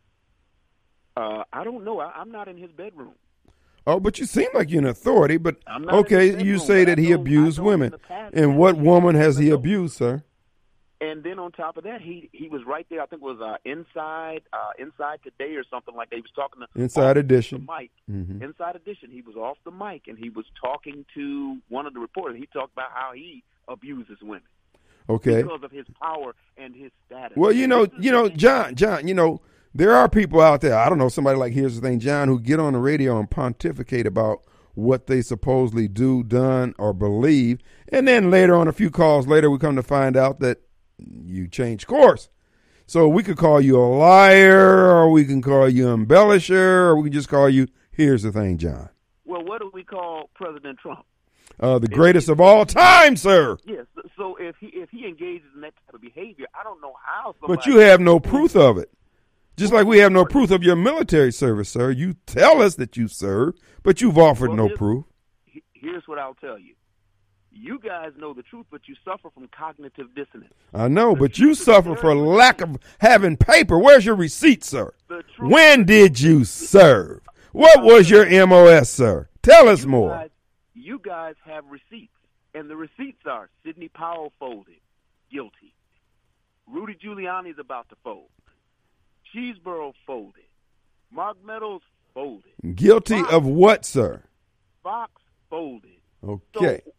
[SPEAKER 8] Uh, I don't know. I, I'm not in his bedroom.
[SPEAKER 1] Oh, but you seem like you're an authority. But okay, you
[SPEAKER 8] bedroom,
[SPEAKER 1] say that he
[SPEAKER 8] know,
[SPEAKER 1] abused women, and what woman has he abused, sir?
[SPEAKER 8] And then on top of that, he he was right there. I think it was uh, inside uh, Inside Today or something like that. He was talking to
[SPEAKER 1] Inside Edition.
[SPEAKER 8] The mic.
[SPEAKER 1] Mm-hmm.
[SPEAKER 8] Inside Edition. He was off the mic and he was talking to one of the reporters. He talked about how he abuses women.
[SPEAKER 1] Okay.
[SPEAKER 8] Because of his power and his status.
[SPEAKER 1] Well, you know, you know, John, John, you know, there are people out there. I don't know, somebody like Here's the Thing, John, who get on the radio and pontificate about what they supposedly do, done, or believe, and then later on, a few calls later, we come to find out that you change course. So we could call you a liar, or we can call you embellisher, or we can just call you, Here's the Thing, John.
[SPEAKER 8] Well, what do we call President Trump?
[SPEAKER 1] Uh, the greatest of all time, sir.
[SPEAKER 8] Yes. So if he if he engages in that type of behavior, I don't know how somebody...
[SPEAKER 1] But you have no proof of it. Just like we have no proof of your military service, sir. You tell us that you serve, but you've offered
[SPEAKER 8] well,
[SPEAKER 1] no
[SPEAKER 8] here's,
[SPEAKER 1] proof.
[SPEAKER 8] Here's what I'll tell you. You guys know the truth, but you suffer from cognitive dissonance.
[SPEAKER 1] I know,
[SPEAKER 8] the
[SPEAKER 1] but you suffer for lack of having paper. Where's your receipt, sir? When did you serve? What was your M O S, sir? Tell us
[SPEAKER 8] you
[SPEAKER 1] more.
[SPEAKER 8] Guys, you guys have receipts. And the receipts are Sidney Powell folded, guilty. Rudy Giuliani's about to fold. Cheeseborough folded. Mark Meadows folded.
[SPEAKER 1] Guilty
[SPEAKER 8] Fox,
[SPEAKER 1] of what, sir?
[SPEAKER 8] Fox folded.
[SPEAKER 1] Okay.
[SPEAKER 8] So,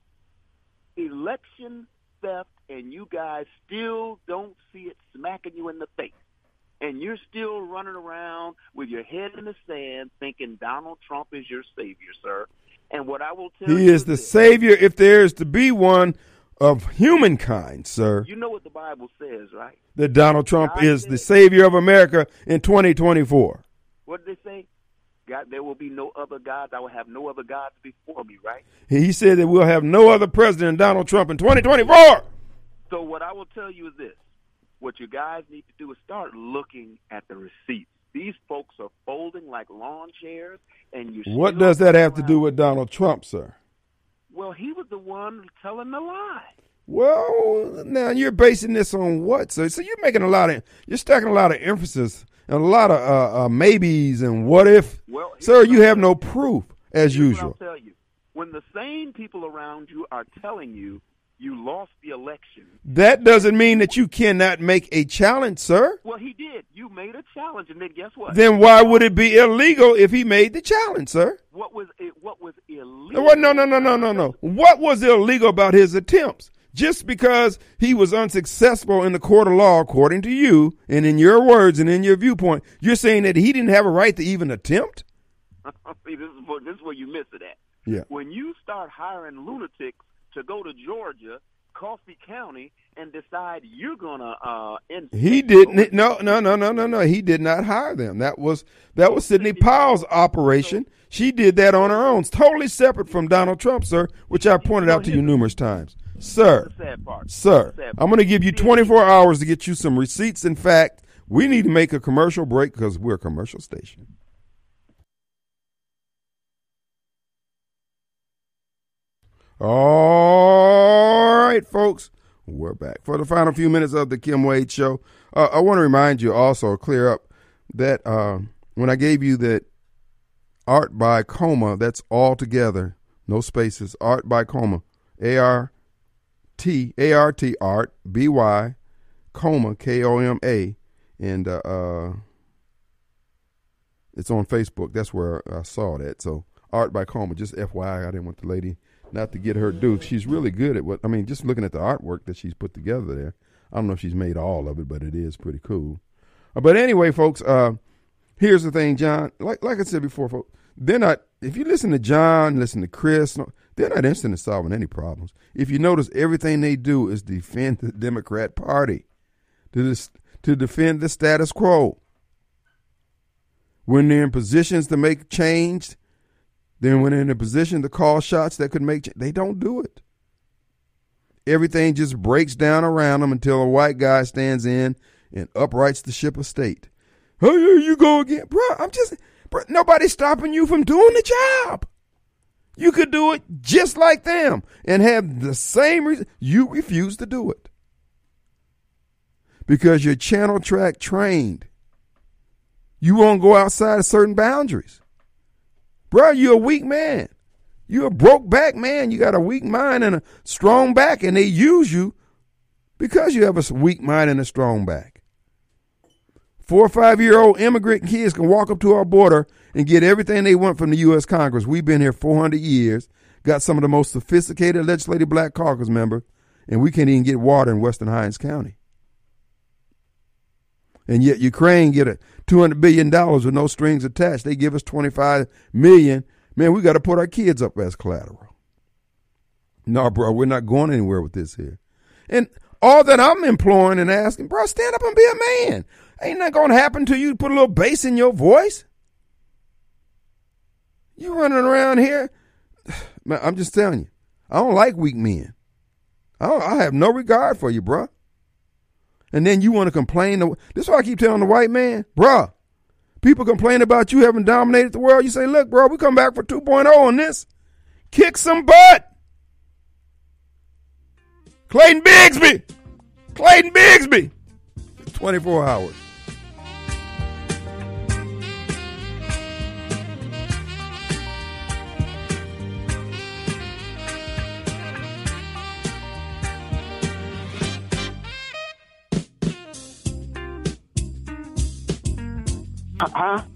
[SPEAKER 8] election theft, and you guys still don't see it smacking you in the face. And you're still running around with your head in the sand thinking Donald Trump is your savior, sir. And what I will tell you
[SPEAKER 1] He is the
[SPEAKER 8] this,
[SPEAKER 1] savior, if there is to be one, of humankind, sir.
[SPEAKER 8] you know what the Bible says, right?
[SPEAKER 1] That Donald Trump
[SPEAKER 8] God
[SPEAKER 1] is
[SPEAKER 8] said-
[SPEAKER 1] the savior of America in twenty twenty-four.
[SPEAKER 8] What did they say? God, there will be no other gods. I will have no other gods before me, right?
[SPEAKER 1] He said that we'll have no other president than Donald Trump in twenty twenty-four.
[SPEAKER 8] So what I will tell you is this. What you guys need to do is start looking at the receipts. These folks are folding like lawn chairs, and you.
[SPEAKER 1] What
[SPEAKER 8] still
[SPEAKER 1] does that have to
[SPEAKER 8] around.
[SPEAKER 1] do with Donald Trump, sir?
[SPEAKER 8] Well, he was the one telling the lie.
[SPEAKER 1] Well, now you're basing this on what, sir? So you're making a lot of, you're stacking a lot of emphasis and a lot of uh, uh, maybes and what if.
[SPEAKER 8] Well, here's
[SPEAKER 1] Sir,
[SPEAKER 8] what
[SPEAKER 1] you
[SPEAKER 8] I'll
[SPEAKER 1] have
[SPEAKER 8] tell
[SPEAKER 1] no
[SPEAKER 8] you.
[SPEAKER 1] proof, as
[SPEAKER 8] Here's
[SPEAKER 1] usual.
[SPEAKER 8] What I'll tell you. When the same people around you are telling you you lost the election.
[SPEAKER 1] That doesn't mean that you cannot make a challenge, sir.
[SPEAKER 8] Well, he did. You made a challenge, and then guess what?
[SPEAKER 1] Then why would it be illegal if he made the challenge, sir?
[SPEAKER 8] What was it? What was illegal?
[SPEAKER 1] What? No, no, no, no, no, no. What was illegal about his attempts? Just because he was unsuccessful in the court of law, according to you, and in your words and in your viewpoint, you're saying that he didn't have a right to even attempt?
[SPEAKER 8] See, this is, where, this is where you miss it at.
[SPEAKER 1] Yeah.
[SPEAKER 8] When you start hiring lunatics to go to Georgia, Coffee County, and decide you're gonna uh, end.
[SPEAKER 1] He didn't. No, no, no, no, no, no. He did not hire them. That was that was Sidney Powell's operation. She did that on her own, it's totally separate from Donald Trump, sir, which I pointed out to you numerous times. Sir,
[SPEAKER 8] That's the sad part.
[SPEAKER 1] sir,
[SPEAKER 8] That's the sad part.
[SPEAKER 1] I'm going to give you twenty-four hours to get you some receipts. In fact, we need to make a commercial break because we're a commercial station. All right, folks, we're back for the final few minutes of the Kim Wade Show. Uh, I want to remind you also, clear up, that uh, when I gave you that Art by Coma, that's all together, no spaces, Art by Coma, A R T, A R T, Art, B Y, Coma, K O M A, and uh, uh, it's on Facebook. That's where I saw that. So Art by Coma, just F Y I, I didn't want the lady not to get her due. She's really good at what, I mean, just looking at the artwork that she's put together there. I don't know if she's made all of it, but it is pretty cool. Uh, but anyway, folks, uh, here's the thing, John. Like like I said before, folks, they're not, if you listen to John, listen to Chris, no, they're not interested in solving any problems. If you notice, everything they do is defend the Democrat Party, to, this, to defend the status quo. When they're in positions to make change, then when they're in a position to call shots that could make change, they don't do it. Everything just breaks down around them until a white guy stands in and uprights the ship of state. Oh, here you go again. Bro, I'm just, bro, nobody's stopping you from doing the job. You could do it just like them and have the same reason. You refuse to do it because you're channel track trained. You won't go outside of certain boundaries. Bro, you're a weak man. You're a broke back man. You got a weak mind and a strong back, and they use you because you have a weak mind and a strong back. Four or five-year-old immigrant kids can walk up to our border and get everything they want from the U S Congress. We've been here four hundred years, got some of the most sophisticated legislative black caucus members, and we can't even get water in Western Hines County. And yet Ukraine get a two hundred billion dollars with no strings attached. They give us twenty-five million dollars. Man, we got to put our kids up as collateral. No, bro, we're not going anywhere with this here. And all that I'm imploring and asking, bro, stand up and be a man. Ain't that going to happen to you to put a little bass in your voice? You running around here. Man, I'm just telling you, I don't like weak men. I, don't, I have no regard for you, bro. And then you want to complain. To, this is why I keep telling the white man, bruh, people complain about you having dominated the world. You say, look, bro, we come back for two point oh on this. Kick some butt. Clayton Bigsby. Clayton Bigsby. twenty-four hours.
[SPEAKER 9] Huh?